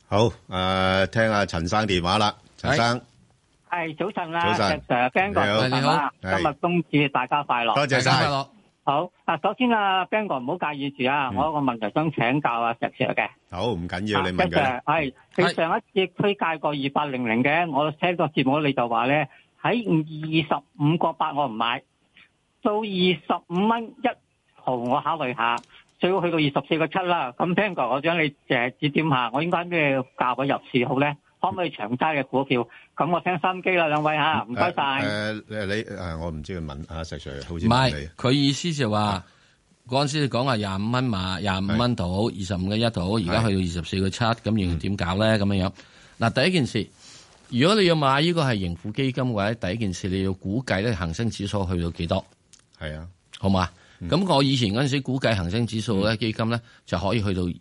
好，聽下陳生電話啦，陳生。
係早晨啦，
早晨
，Ben 哥早晨啦，今日冬至大家快樂，
多謝晒。
好，首先Ben 哥唔好介意住啊，我有個問題想請教石 Sir 嘅。
好，唔緊要，你問佢。
係你上一次推介過2800嘅，我聽個節目你就話咧喺25個8我唔買，到25蚊1毫我考慮下，最好去到24個7啦。咁 Ben 哥，我想你指點下，我應該咩價位入市好咧？可唔可以長揸嘅股票？咁我聽心機啦，兩位嚇，唔該晒。
我唔知佢問阿石 Sir，好似
唔係佢意思就話嗰陣時你講話25蚊買25蚊到25個1到，而家去到24個7，咁要點搞咧？咁樣嗱，第一件事，如果你要買呢個係盈富基金嘅話，第一件事你要估計咧恒生指數去到幾多？係啊，好嘛？咁我以前嗰陣時估計恒生指數咧基金咧就可以去到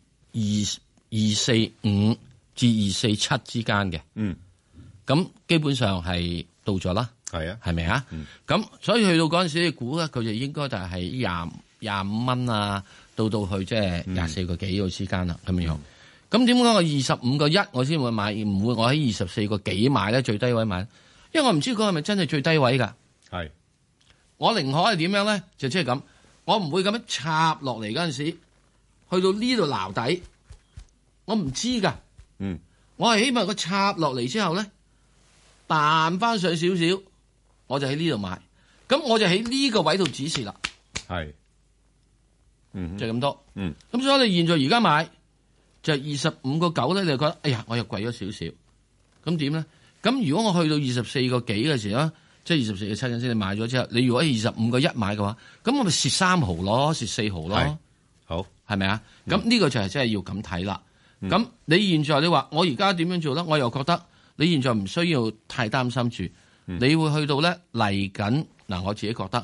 245至247之間嘅，咁基本上係到咗啦，係啊，係咪啊？咁所以去到嗰陣時，你估咧佢就應該就係25蚊啊，到去即係24個幾個之間啦，咁樣。咁點解我25個1我先會買，唔會我喺24個幾買咧？最低位買，因為我唔知嗰係咪真係最低位㗎。係，我寧可係點樣咧？就即係咁，我唔會咁樣插落嚟嗰陣時，去到呢度撈底，我唔知㗎。我係希望佢插落嚟之後咧，彈翻上少少，我就喺呢度買，咁我就喺呢個位度指示啦。係，就咁多。咁所以你現在而家買就25個9咧，你就覺得哎呀，我又貴咗少少。咁點咧？咁如果我去到24個幾嘅時候，即係24個7陣先，你買咗之後，你如果25個1買嘅話，咁我咪蝕3毫咯，蝕4毫咯。好，係咪啊？咁呢個就係真係要咁睇啦。咁你現在你話我而家點樣做咧？我又覺得你現在唔需要太擔心住，你會去到咧嚟緊嗱，我自己覺得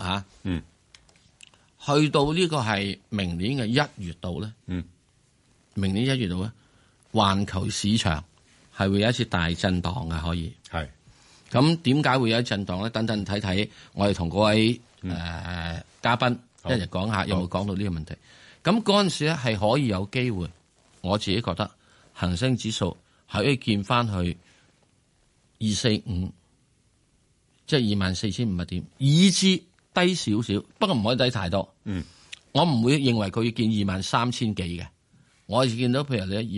去到呢個係明年嘅1月度咧，明年1月度咧，環球市場係會有一次大震盪嘅，可以係。咁點解會有一震盪咧？等等睇睇，我哋同嗰位嘉賓一齊講下，有冇講到呢個問題？咁嗰陣時咧係可以有機會。我自己覺得恒生指數係可以見翻去245，即係24,500點，以至低少少，不過唔可以低太多。我唔會認為佢要見23,000幾嘅，我係見到譬如你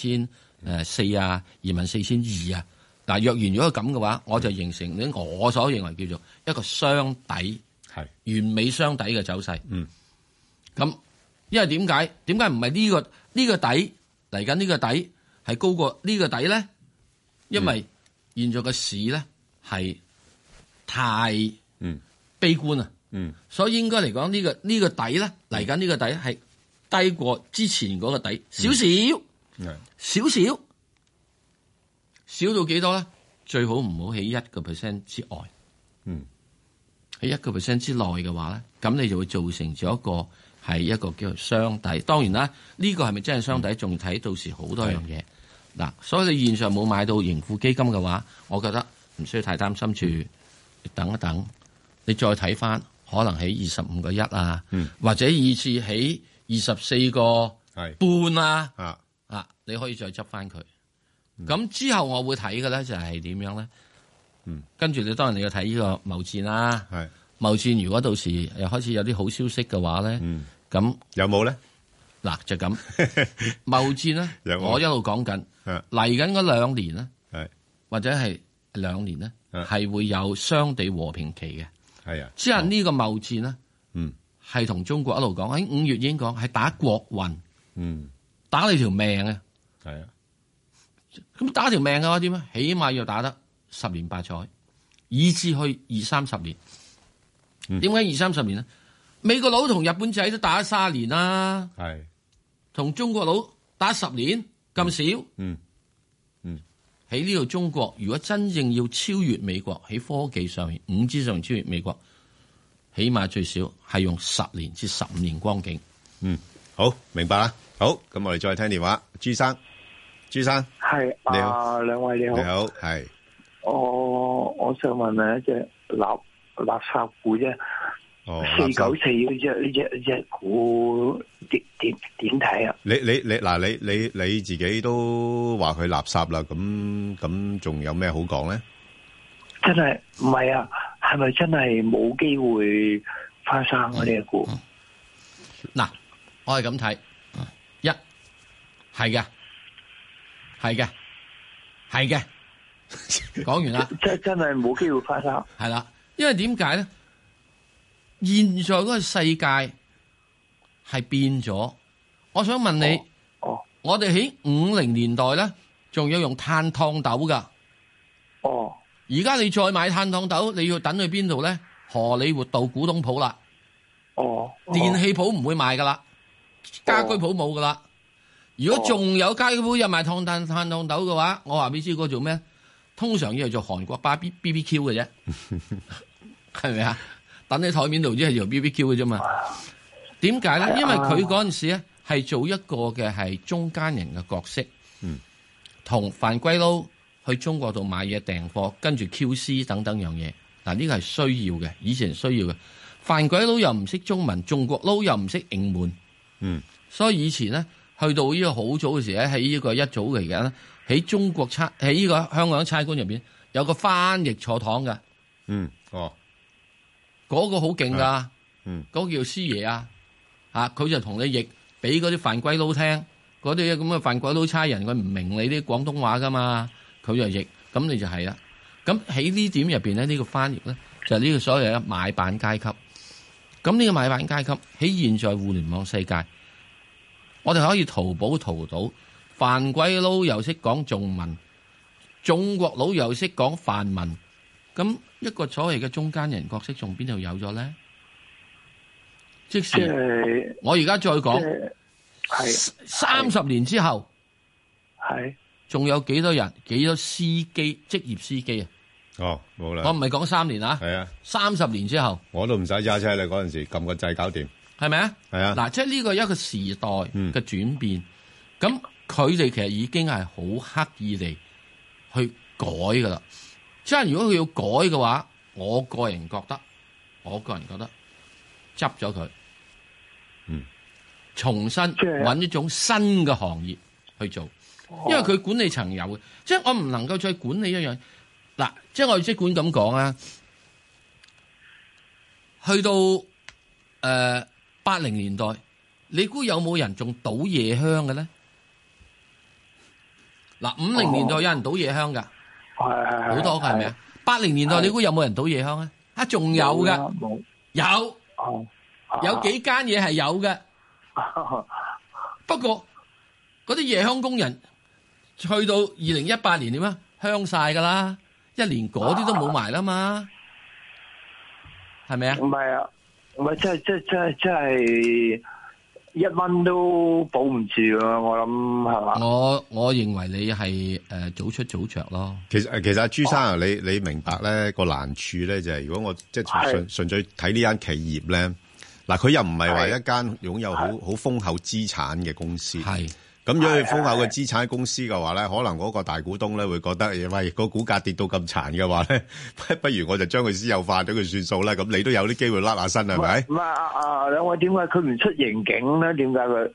24,400啊，24,200啊。嗱，若然如果咁嘅話，我就形成我所認為叫做一個雙底，係完美雙底嘅走勢。咁因為點解唔係呢個底嚟緊？呢個底係高過呢個底咧？因為現在嘅市咧係太悲觀啊，所以應該嚟講呢個底咧嚟緊呢個底係低過之前嗰個底少少，少到幾多咧？最好唔好喺1% 之外，喺1% 之內嘅話咧，咁你就會造成咗係一個叫做雙底。當然啦，呢個係咪真係雙底，仲要睇到時好多樣嘢。嗱，所以你現在冇買到盈富基金嘅話，我覺得唔需要太擔心住，等一等，你再睇翻，可能喺25個1啊，或者以至喺24個半啊，你可以再執翻佢。咁之後我會睇嘅咧就係點樣咧？跟住你當然你要睇呢個貿戰啦。貿戰如果到時又開始有啲好消息嘅話咧，咁有冇咧？嗱就咁貿戰咧，我一路講緊嚟緊嗰2年咧，或者係2年咧，係會有相對和平期嘅。係啊，即係呢個貿戰咧，係同中國一路講喺5月已經講係打國運，打你條命啊！係啊。咁打條命嘅話點啊？起碼要打得10年8載，以至去20-30年。點解20-30年咧？美國佬同日本仔都打咗30年啦，係同中國佬打10年咁少。喺呢度中國如果真正要超越美國喺科技上面，5G上面超越美國，起碼最少係用10年至15年光景。
好明白啦。好，咁我哋再聽電話，朱生。朱生
係，
你好，
兩位你好，
你好，係。
我想問一隻垃圾股啫， 494呢隻股點睇啊？
你自己都話佢垃圾啦，咁仲有咩好講咧？
真係唔係啊？係咪真係冇機會翻生啊？呢隻股
嗱，我係咁睇，一係嘅，講完啦，
真係冇機會翻生，
係啦，因為點解咧？現在嗰個世界係變咗，我想問你，我哋喺50年代咧，仲要用炭燙斗噶，而家你再買炭燙斗，你要等去邊度咧？荷里活道古董鋪啦，電器鋪唔會賣噶啦，家居鋪冇噶啦。如果仲有家居鋪有賣炭燙斗嘅話，我話俾你知嗰個做咩？通常要係做韓國巴 BBQ 嘅啫，係咪啊？等喺台面度只係做 BBQ 嘅啫嘛？點解咧？因為佢嗰陣時咧係做一個嘅係中間人嘅角色，同番鬼佬去中國度買嘢訂貨，跟住 QC 等等樣嘢。嗱，呢個係需要嘅，以前需要嘅。番鬼佬又唔識中文，中國佬又唔識英文，所以以前咧去到呢個好早嘅時咧，喺呢個一早嚟緊咧，喺中國喺呢個香港差館入邊有個翻譯坐堂嘅，嗰個好勁噶，嗰個叫師爺啊，佢就同你譯俾嗰啲番鬼佬聽，嗰啲咁嘅番鬼佬差人佢唔明你啲廣東話噶嘛，佢就譯，咁你就係啦。咁喺呢點入邊咧，呢個翻譯咧就係呢個所謂嘅買辦階級。咁呢個買辦階級喺現在互聯網世界，我哋可以淘寶淘到番鬼佬又識講中文，中國佬又識講梵文，咁一個所謂嘅中間人角色仲邊度有咗咧？即使我而家再講，30年之後，仲有幾多人？幾多司機？職業司機啊？
冇啦。
我唔係講3年啊。係啊。30年之後，
我都唔使揸車啦。嗰陣時撳個掣搞掂，係
咪啊？
係啊。
嗱，即係呢個一個時代嘅轉變。咁佢哋其實已經係好刻意地去改噶啦。即係如果佢要改嘅話，我個人覺得執咗佢，重新揾一種新嘅行業去做，因為佢管理層有嘅，即係我唔能夠再管理一樣。嗱，即係我即管咁講啊，去到80年代，你估有冇人仲賭夜香嘅咧？嗱，50年代有人賭夜香噶，好多噶係咪啊？80年代你估有冇人賭夜香啊？仲有噶，有幾間嘢係有嘅，不過嗰啲夜香工人去到2018年點啊？香晒噶啦，一年嗰啲都冇埋啦嘛，係咪啊？
唔係啊，唔係真係1蚊都保唔住啊！我諗係嘛？
我認為你係早出早着咯。
其實阿朱生啊，你明白咧個難處咧就係如果我即係純粹睇呢間企業咧，嗱佢又唔係話一間擁有好豐厚資產嘅公司。係咁，如果佢豐厚嘅資產公司嘅話咧，可能嗰個大股東咧會覺得，喂個股價跌到咁殘嘅話咧，不如我就將佢私有化咗佢算數啦。咁你都有啲機會甩下身係咪？
唔係兩位點解佢唔出盈警咧？點解佢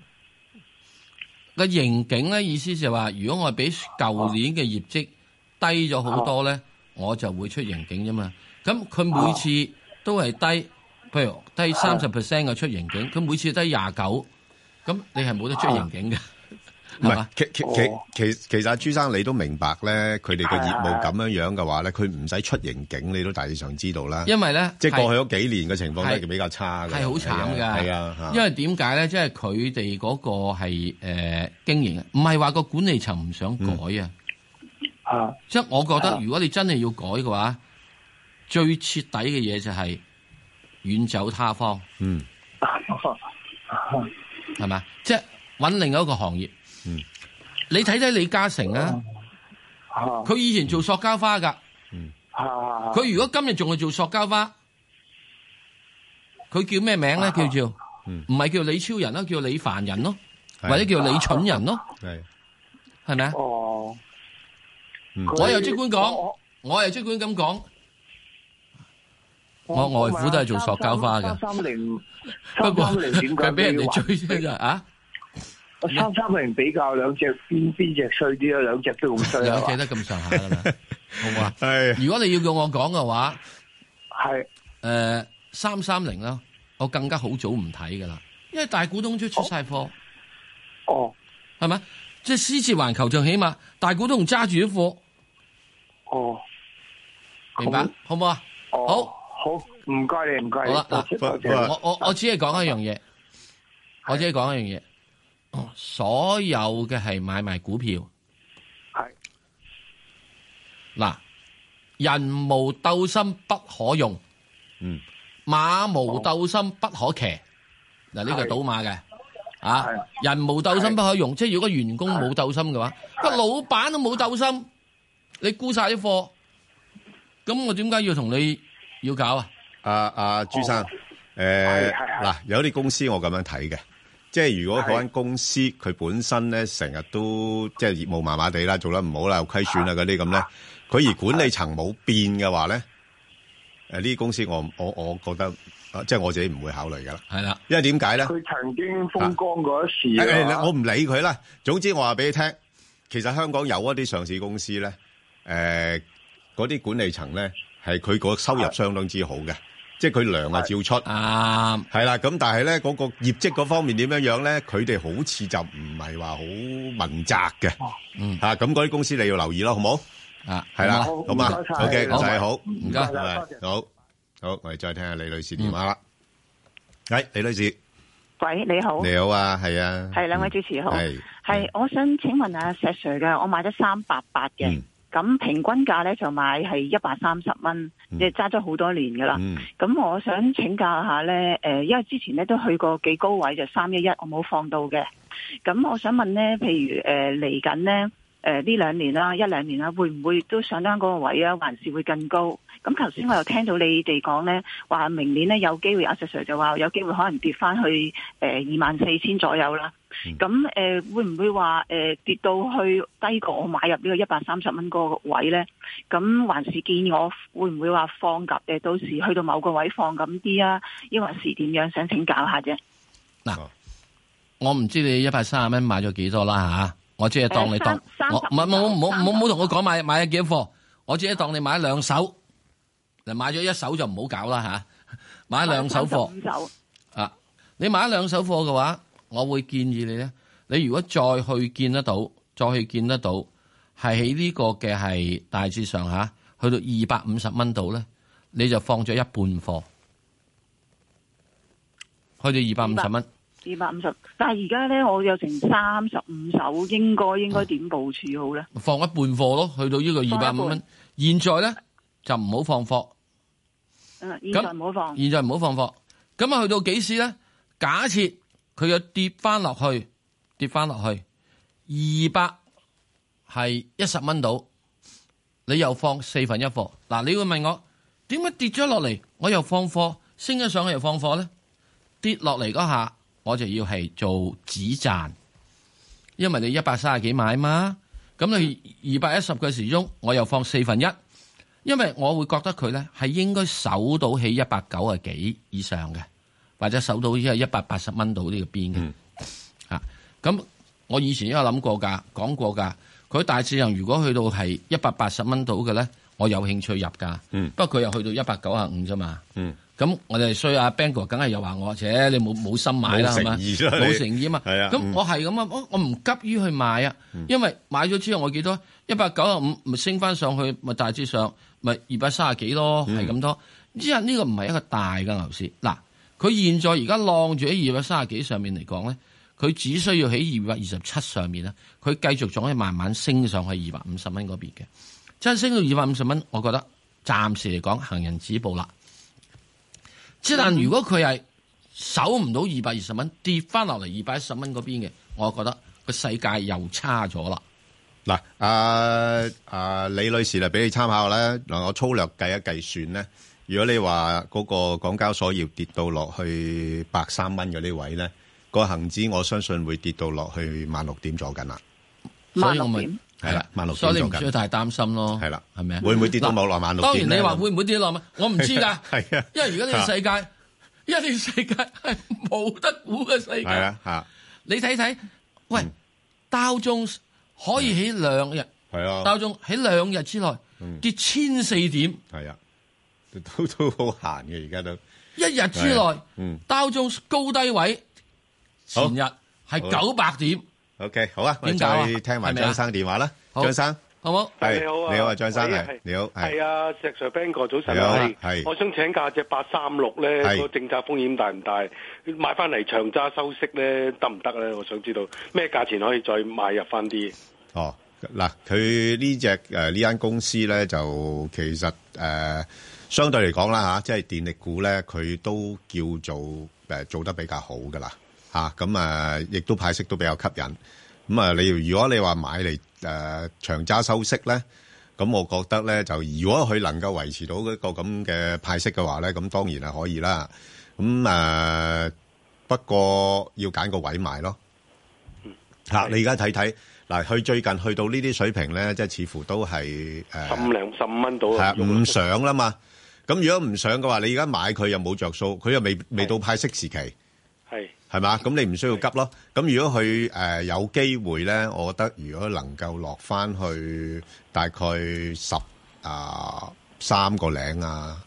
個盈警咧？意思就係話，如果我比舊年嘅業績低咗好多咧，我就會出盈警啫嘛。咁佢每次都係低，譬如低30% 嘅出盈警，佢每次低29%。咁你係冇得出盈警嘅，
唔係其實朱生你都明白咧，佢哋嘅業務咁樣嘅話咧，佢唔使出盈警，你都大致上知道啦。因為咧，即係過去嗰幾年嘅情況都係比較差嘅，係好
慘㗎。
係啊，
因為點解咧？即係佢哋嗰個係經營，唔係話個管理層唔想改啊。即係我覺得，如果你真係要改嘅話，最徹底嘅嘢就係遠走他方。係咪？即係揾另外一個行業。你睇睇李嘉誠啊，佢以前做塑膠花噶。佢如果今日仲係做塑膠花，佢叫咩名咧？叫做唔係叫李超人咯，叫李凡人咯，或者叫李蠢人咯。係咪啊？我又即管講，我又即管咁講。 我外父都係做塑膠花嘅。
330
不過
點解
佢俾人哋追啫啊
？330比較兩隻邊隻衰啲啊？兩隻都咁衰啊！
兩隻都咁上下噶啦，好唔好啊？係。如果你要叫我講嘅話，係330啦，我更加好早唔睇噶啦，因為大股東都出晒貨。
哦，
係咪？即係獅子環球就起碼大股東揸住啲貨。
哦，
明白好唔好啊？
好，唔該你，唔該。
好啦，嗱，我只係講一樣嘢，我只係講一樣嘢。所有嘅係買賣股票，
係
嗱，人無鬥心不可用，馬無鬥心不可騎。嗱，呢個係賭馬嘅。啊！人無鬥心不可用，即係如果員工冇鬥心嘅話，個老闆都冇鬥心，你沽晒啲貨，咁我點解要同你要搞啊？
朱生，嗱，有啲公司我咁樣睇嘅，即係如果嗰間公司佢本身咧成日都即係業務麻麻地啦，做得唔好啦，虧損啊嗰啲咁咧，佢而管理層冇變嘅話咧，呢啲公司我覺得。即係我自己唔會考慮噶啦，係啦，因為點解咧？
佢曾經風光過一時
我唔理佢啦。總之我話俾你聽，其實香港有一啲上市公司咧，嗰啲管理層咧係佢個收入相當之好嘅，即係佢糧啊照出，係啦。咁但係咧嗰個業績嗰方面點樣樣咧？佢哋好似就唔係話好問責嘅，咁嗰啲公司你要留意咯，好冇？係啦，好嘛 ？OK， 就係好，唔該，好。好，我哋再聽下李女士電話啦。係李女士，
喂，你好，
你好啊，係啊，
係兩位主持好，係，我想請問下石 Sir 嘅，我買咗388嘅，咁平均價咧就買係130蚊，即係揸咗好多年噶啦。咁我想請教下咧，因為之前咧都去過幾高位，就311，我冇放到嘅。咁我想問咧，譬如嚟緊咧，呢2年啦，1、2年啦，會唔會都上翻嗰個位啊？還是會更高？咁頭先我又聽到你哋講咧，話明年咧有機會，阿石 Sir 就話有機會可能跌翻去24,000左右啦。咁會唔會話跌到去低過我買入呢個130蚊嗰個位咧？咁還是建議我會唔會話放鴿到時去到某個位放咁啲啊？抑或是點樣？想請教下啫。
嗱，我唔知你130蚊買咗幾多啦嚇，我只係當你當我唔好同我講買咗幾多貨，我只係當你買2手。買咗1手就唔好搞啦吓，買2手貨啊！你買2手貨嘅話，我會建議你咧，你如果再去見得到，係喺呢個嘅係大致上吓，去到250蚊度咧，你就放咗一半貨，去到250蚊。
250，但係而家咧，我有成35手，應該點部署好咧？
放一半貨咯，去到呢個250蚊。現在咧就唔好放貨。
現在唔好放。
現在唔好放貨。咁啊，去到幾時咧？假設佢又跌翻落去，200係10蚊到，你又放1/4貨。嗱，你會問我點解跌咗落嚟，我又放貨，升咗上去又放貨咧？跌落嚟嗰下，我就要係做止賺，因為你130幾買嘛，咁你210嘅時鐘，我又放1/4。因為我會覺得佢咧係應該守到起190幾以上嘅，或者守到依係180蚊到呢個邊嘅。咁我以前都有諗過㗎，講過㗎。佢大致上如果去到係180蚊到嘅咧，我有興趣入㗎。不過佢又去到195啫嘛。咁我哋衰阿 Bang 哥梗係又話我，且你冇心買啦，係嘛？冇誠意啊嘛。咁我係咁啊，我唔急於去買啊，因為買咗之後我幾多195咪升翻上去，咪大致上。咪230幾咯，係咁多。之後呢個唔係一個大嘅牛市。嗱，佢現在而家晾住喺230幾上面嚟講咧，佢只需要喺227上面咧，佢繼續仲可以慢慢升上去250蚊嗰邊嘅。真係升到250蚊，我覺得暫時嚟講行人止步啦。即但如果佢係守唔到220蚊，跌翻落嚟210蚊嗰邊嘅，我覺得個世界又差咗啦。
嗱，李女士嚟俾你參考咧。嗱，我粗略計一計算咧，如果你話嗰個港交所要跌到落去130蚊嗰啲位咧，個恒指我相信會跌到落去16,000點左緊啦。
所以我咪係啦
，16,000
所以你唔需要太擔心咯。
係啦，
係咪啊？
會唔會跌到冇落16,000？
當然你話會唔會跌落？我唔知㗎。
係啊，
因為而家呢個世界，係冇得估嘅世界。
係啊，嚇！
你睇睇，喂，道瓊可以喺2日，
係啊，
道瓊喺2日之內跌1004點。
係啊，都好閒嘅而家都。
一日之內，道瓊高低位前日係900點。
OK， 好啊，我哋再聽埋張生電話啦。張生，
好冇？
係
你好啊，
你好啊，張生係你好，
係啊，石 Sir Ben 哥早晨
係，
我想請教隻836咧，個政策風險大唔大？買翻嚟長揸收息咧得唔得咧？我想知道咩價錢可以再買入翻啲？
哦，嗱，佢呢隻呢間公司咧就其實相對嚟講啦嚇，即係電力股咧，佢都叫做做得比較好噶啦嚇，咁亦都派息都比較吸引。咁如果你話買嚟長揸收息咧，咁我覺得咧就如果佢能夠維持到一個咁嘅派息嘅話咧，咁當然係可以啦。咁不過要揀個位買咯。你而家睇睇嗱，佢最近去到呢啲水平咧，即係似乎都係
15蚊到。
係啊，唔上啦嘛。咁如果唔上嘅話，你而家買佢又冇着數，佢又未到派息時期。係嘛？咁你唔需要急咯。咁如果佢有機會咧，我覺得如果能夠落翻去大概13個零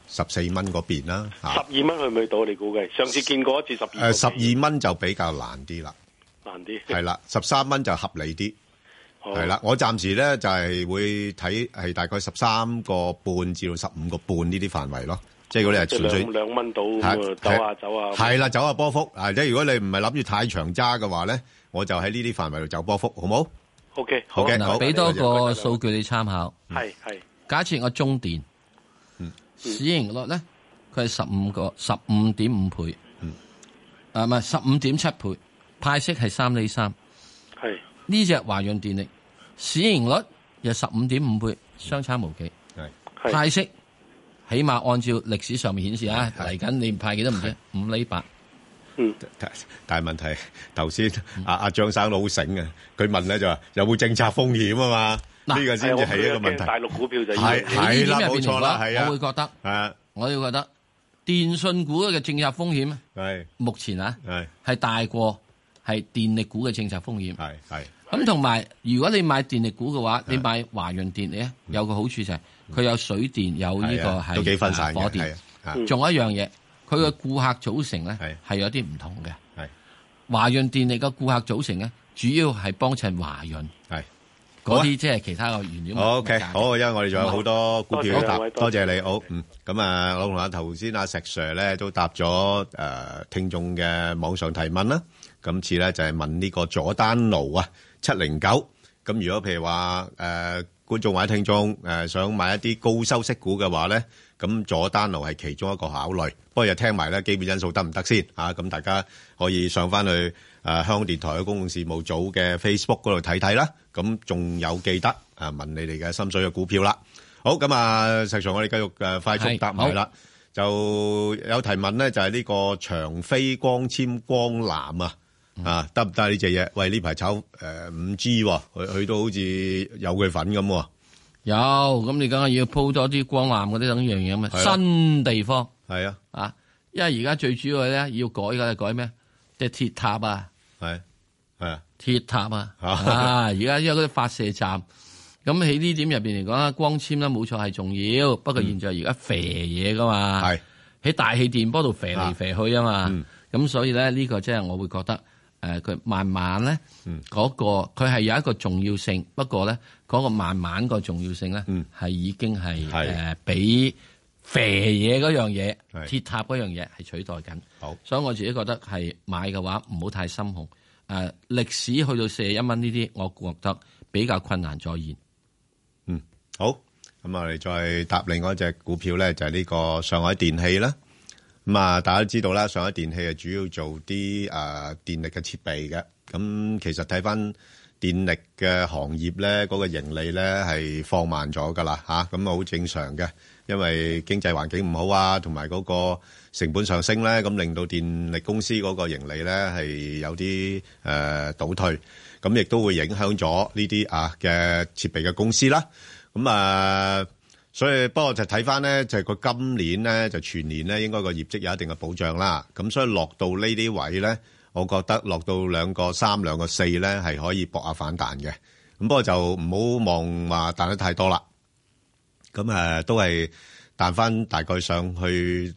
14蚊嗰邊啦。
12蚊去唔去到？你估計？上次見過一次
12蚊就比較難啲啦。
難啲。係
啦，13蚊就合理啲。係啦，我暫時咧就係會睇係大概13個半至到15個半呢啲範圍咯。即係如果你係純粹
2蚊到走啊，
係啦，走下波幅。即係如果你唔係諗住太長揸嘅話咧，我就喺呢啲範圍度走波幅，好冇
？OK，
好嘅。嗱，
俾多個數據你參考。
係。
假設我中電，市盈率咧，佢係15.5倍，唔係15.7倍，派息係3厘3。
係
呢隻華潤電力市盈率又15.5倍，相差無幾。係派息。起碼按照歷史上面顯示啊，嚟緊你派幾多唔知5厘8。
但係問題頭先阿張生好醒啊，佢問咧就話有冇政策風險啊嘛？呢個先至係一個問題。
大陸股票就
係啦，冇錯啦，係啊。
我會覺得，我要覺得電信股嘅政策風險
係
目前係大過係電力股嘅政策風險。
係
咁同埋，如果你買電力股嘅話，你買華潤電力咧，有個好處就係佢有水電，有呢個係
都幾分散
火電。仲有一樣嘢，佢嘅顧客組成咧係有啲唔同嘅。華潤電力嘅顧客組成咧，主要係幫襯華潤。嗰啲即係其他嘅原料。
OK， 好，因為我哋仲有好多股票答，多謝你。好，咁我同頭先阿石 Sir 咧都答咗聽眾嘅網上提問啦。今次咧就係問呢個佐丹奴709。咁如果譬如話觀眾或者聽眾想買一啲高收息股嘅話咧，咁佐丹奴係其中一個考慮。不過又聽埋咧基本因素得唔得先啊？咁大家可以上翻去香港電台嘅公共事務組嘅 Facebook 嗰度睇睇啦。咁仲有記得問你哋嘅心水嘅股票啦。好，咁實際上我哋繼續快速答埋啦。就有提問咧，就係呢個長飛光纖光纜得唔得呢隻嘢？喂，呢排炒5G 喎，佢都好似有佢份咁喎。
有，咁你梗係要鋪多啲光纜嗰啲等樣嘢嘛。新地方
係
啊，因為而家最主要咧要改嘅係改咩？即係鐵塔啊，鐵塔啊，而家因為嗰啲發射站，咁喺呢點入邊嚟講啦，光纖咧冇錯係重要，不過現在而家肥嘢噶嘛，喺大氣電波度肥嚟肥去啊嘛，咁所以咧呢個即係我會覺得佢慢慢咧嗰個佢係有一個重要性，不過咧嗰個慢慢個重要性咧係已經係比肥嘢嗰樣嘢鐵塔嗰樣嘢係取代緊。好，所以我自己覺得係買嘅話唔好太心紅。歷史去到41蚊呢啲，我覺得比較困難再現。
好，咁我哋再答另外一隻股票咧，就係呢個上海電氣啦。咁大家都知道啦，上海電氣係主要做啲電力嘅設備嘅。咁其實睇翻電力嘅行業咧，嗰個盈利咧係放慢咗噶啦嚇，咁好正常嘅，因為經濟環境唔好啊，同埋嗰個成本上升咧，咁令到電力公司嗰個盈利咧係有啲倒退。 咁亦都會影響咗呢啲嘅設備嘅公司啦。咁所以不過就睇翻咧，就係個今年咧就全年咧應該個業績有一定嘅保障啦。咁所以落到呢啲位咧，我覺得落到2.3、2.4咧係可以搏下反彈嘅。咁不過就唔好望話彈得太多啦。咁都係彈翻大概上去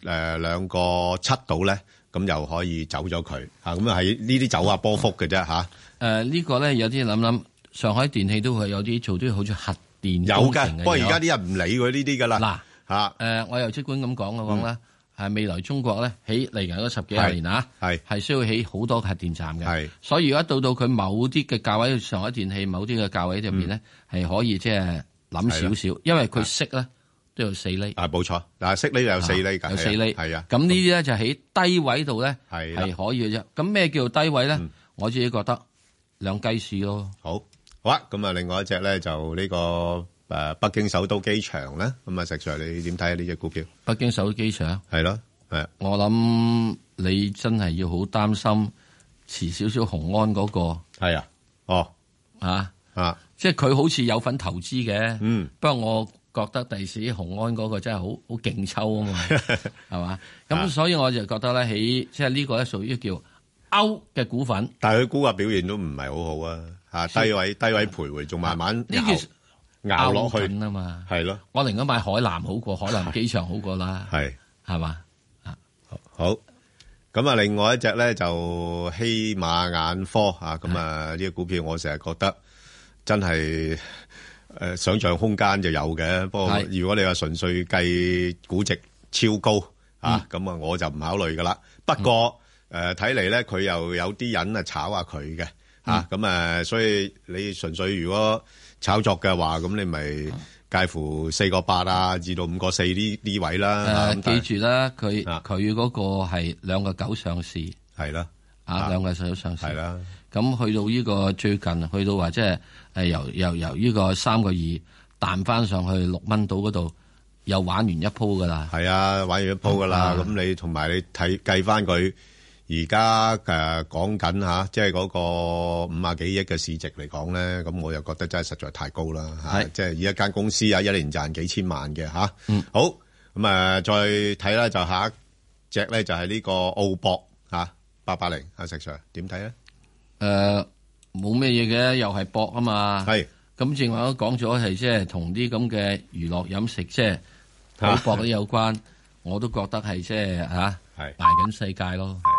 2.7度咧，咁又可以走咗佢嚇。咁喺呢啲走下波幅嘅啫嚇。呢
個咧有啲諗，上海電氣都係有啲做啲好似核電
有嘅，不過而家啲人唔理佢呢啲噶啦。
嗱我又即管咁講嘅講啦，係未來中國咧起嚟緊嗰10幾廿年係需要起好多核電站嘅。所以如果到佢某啲嘅價位，上海電氣某啲嘅價位入邊咧係可以即係諗少少，因為佢息咧都有4厘。冇錯，但係息呢有4厘㗎，有4厘。係啊，咁呢啲咧就喺低位度咧係可以嘅啫。咁咩叫做低位咧？我自己覺得兩雞市咯。好啊，咁另外一隻咧就呢個北京首都機場咧。咁石 Sir 你點睇啊？呢隻股票？北京首都機場係咯，我諗你真係要好擔心遲少少雄安嗰個。係啊，即係佢好似有份投資嘅。不過我覺得第時雄安嗰個真係好勁抽啊嘛，係嘛？咁所以我就覺得咧，即係呢個咧屬於叫歐嘅股份，但係佢股價表現都唔係好好啊，低位徘徊，仲慢慢熬落去啊嘛，係咯。我寧願買海南好過海南機場好過啦，係嘛？好，咁啊，另外一隻咧就希瑪眼科咁呢個股票我成日覺得真係想象空間就有嘅，不過如果你話純粹計估值超高咁我就唔考慮噶啦。不過睇嚟咧，佢又有啲人炒下佢嘅咁所以你純粹如果炒作嘅話，咁你咪介乎4.8至到5.4呢位啦。記住啦，佢嗰個係2.9上市，係啦，2.9上市，係啦。咁去到呢個最近，去到話即係由呢個3.2彈翻上去6蚊度嗰度，又玩完一鋪噶啦。係啊，玩完一鋪噶啦。咁你同埋你計翻佢。而家講緊即係嗰個50幾億嘅市值嚟講咧，咁我又覺得真係實在太高啦。即係以一間公司一年賺幾千萬嘅好，咁再睇啦，就下一隻咧就係呢個澳博880，石 Sir 點睇咧？冇咩嘢嘅，又係博啊嘛。係咁，正話都講咗係即係同啲咁嘅娛樂飲食即係賭博啲有關，我都覺得係即係賣緊世界咯。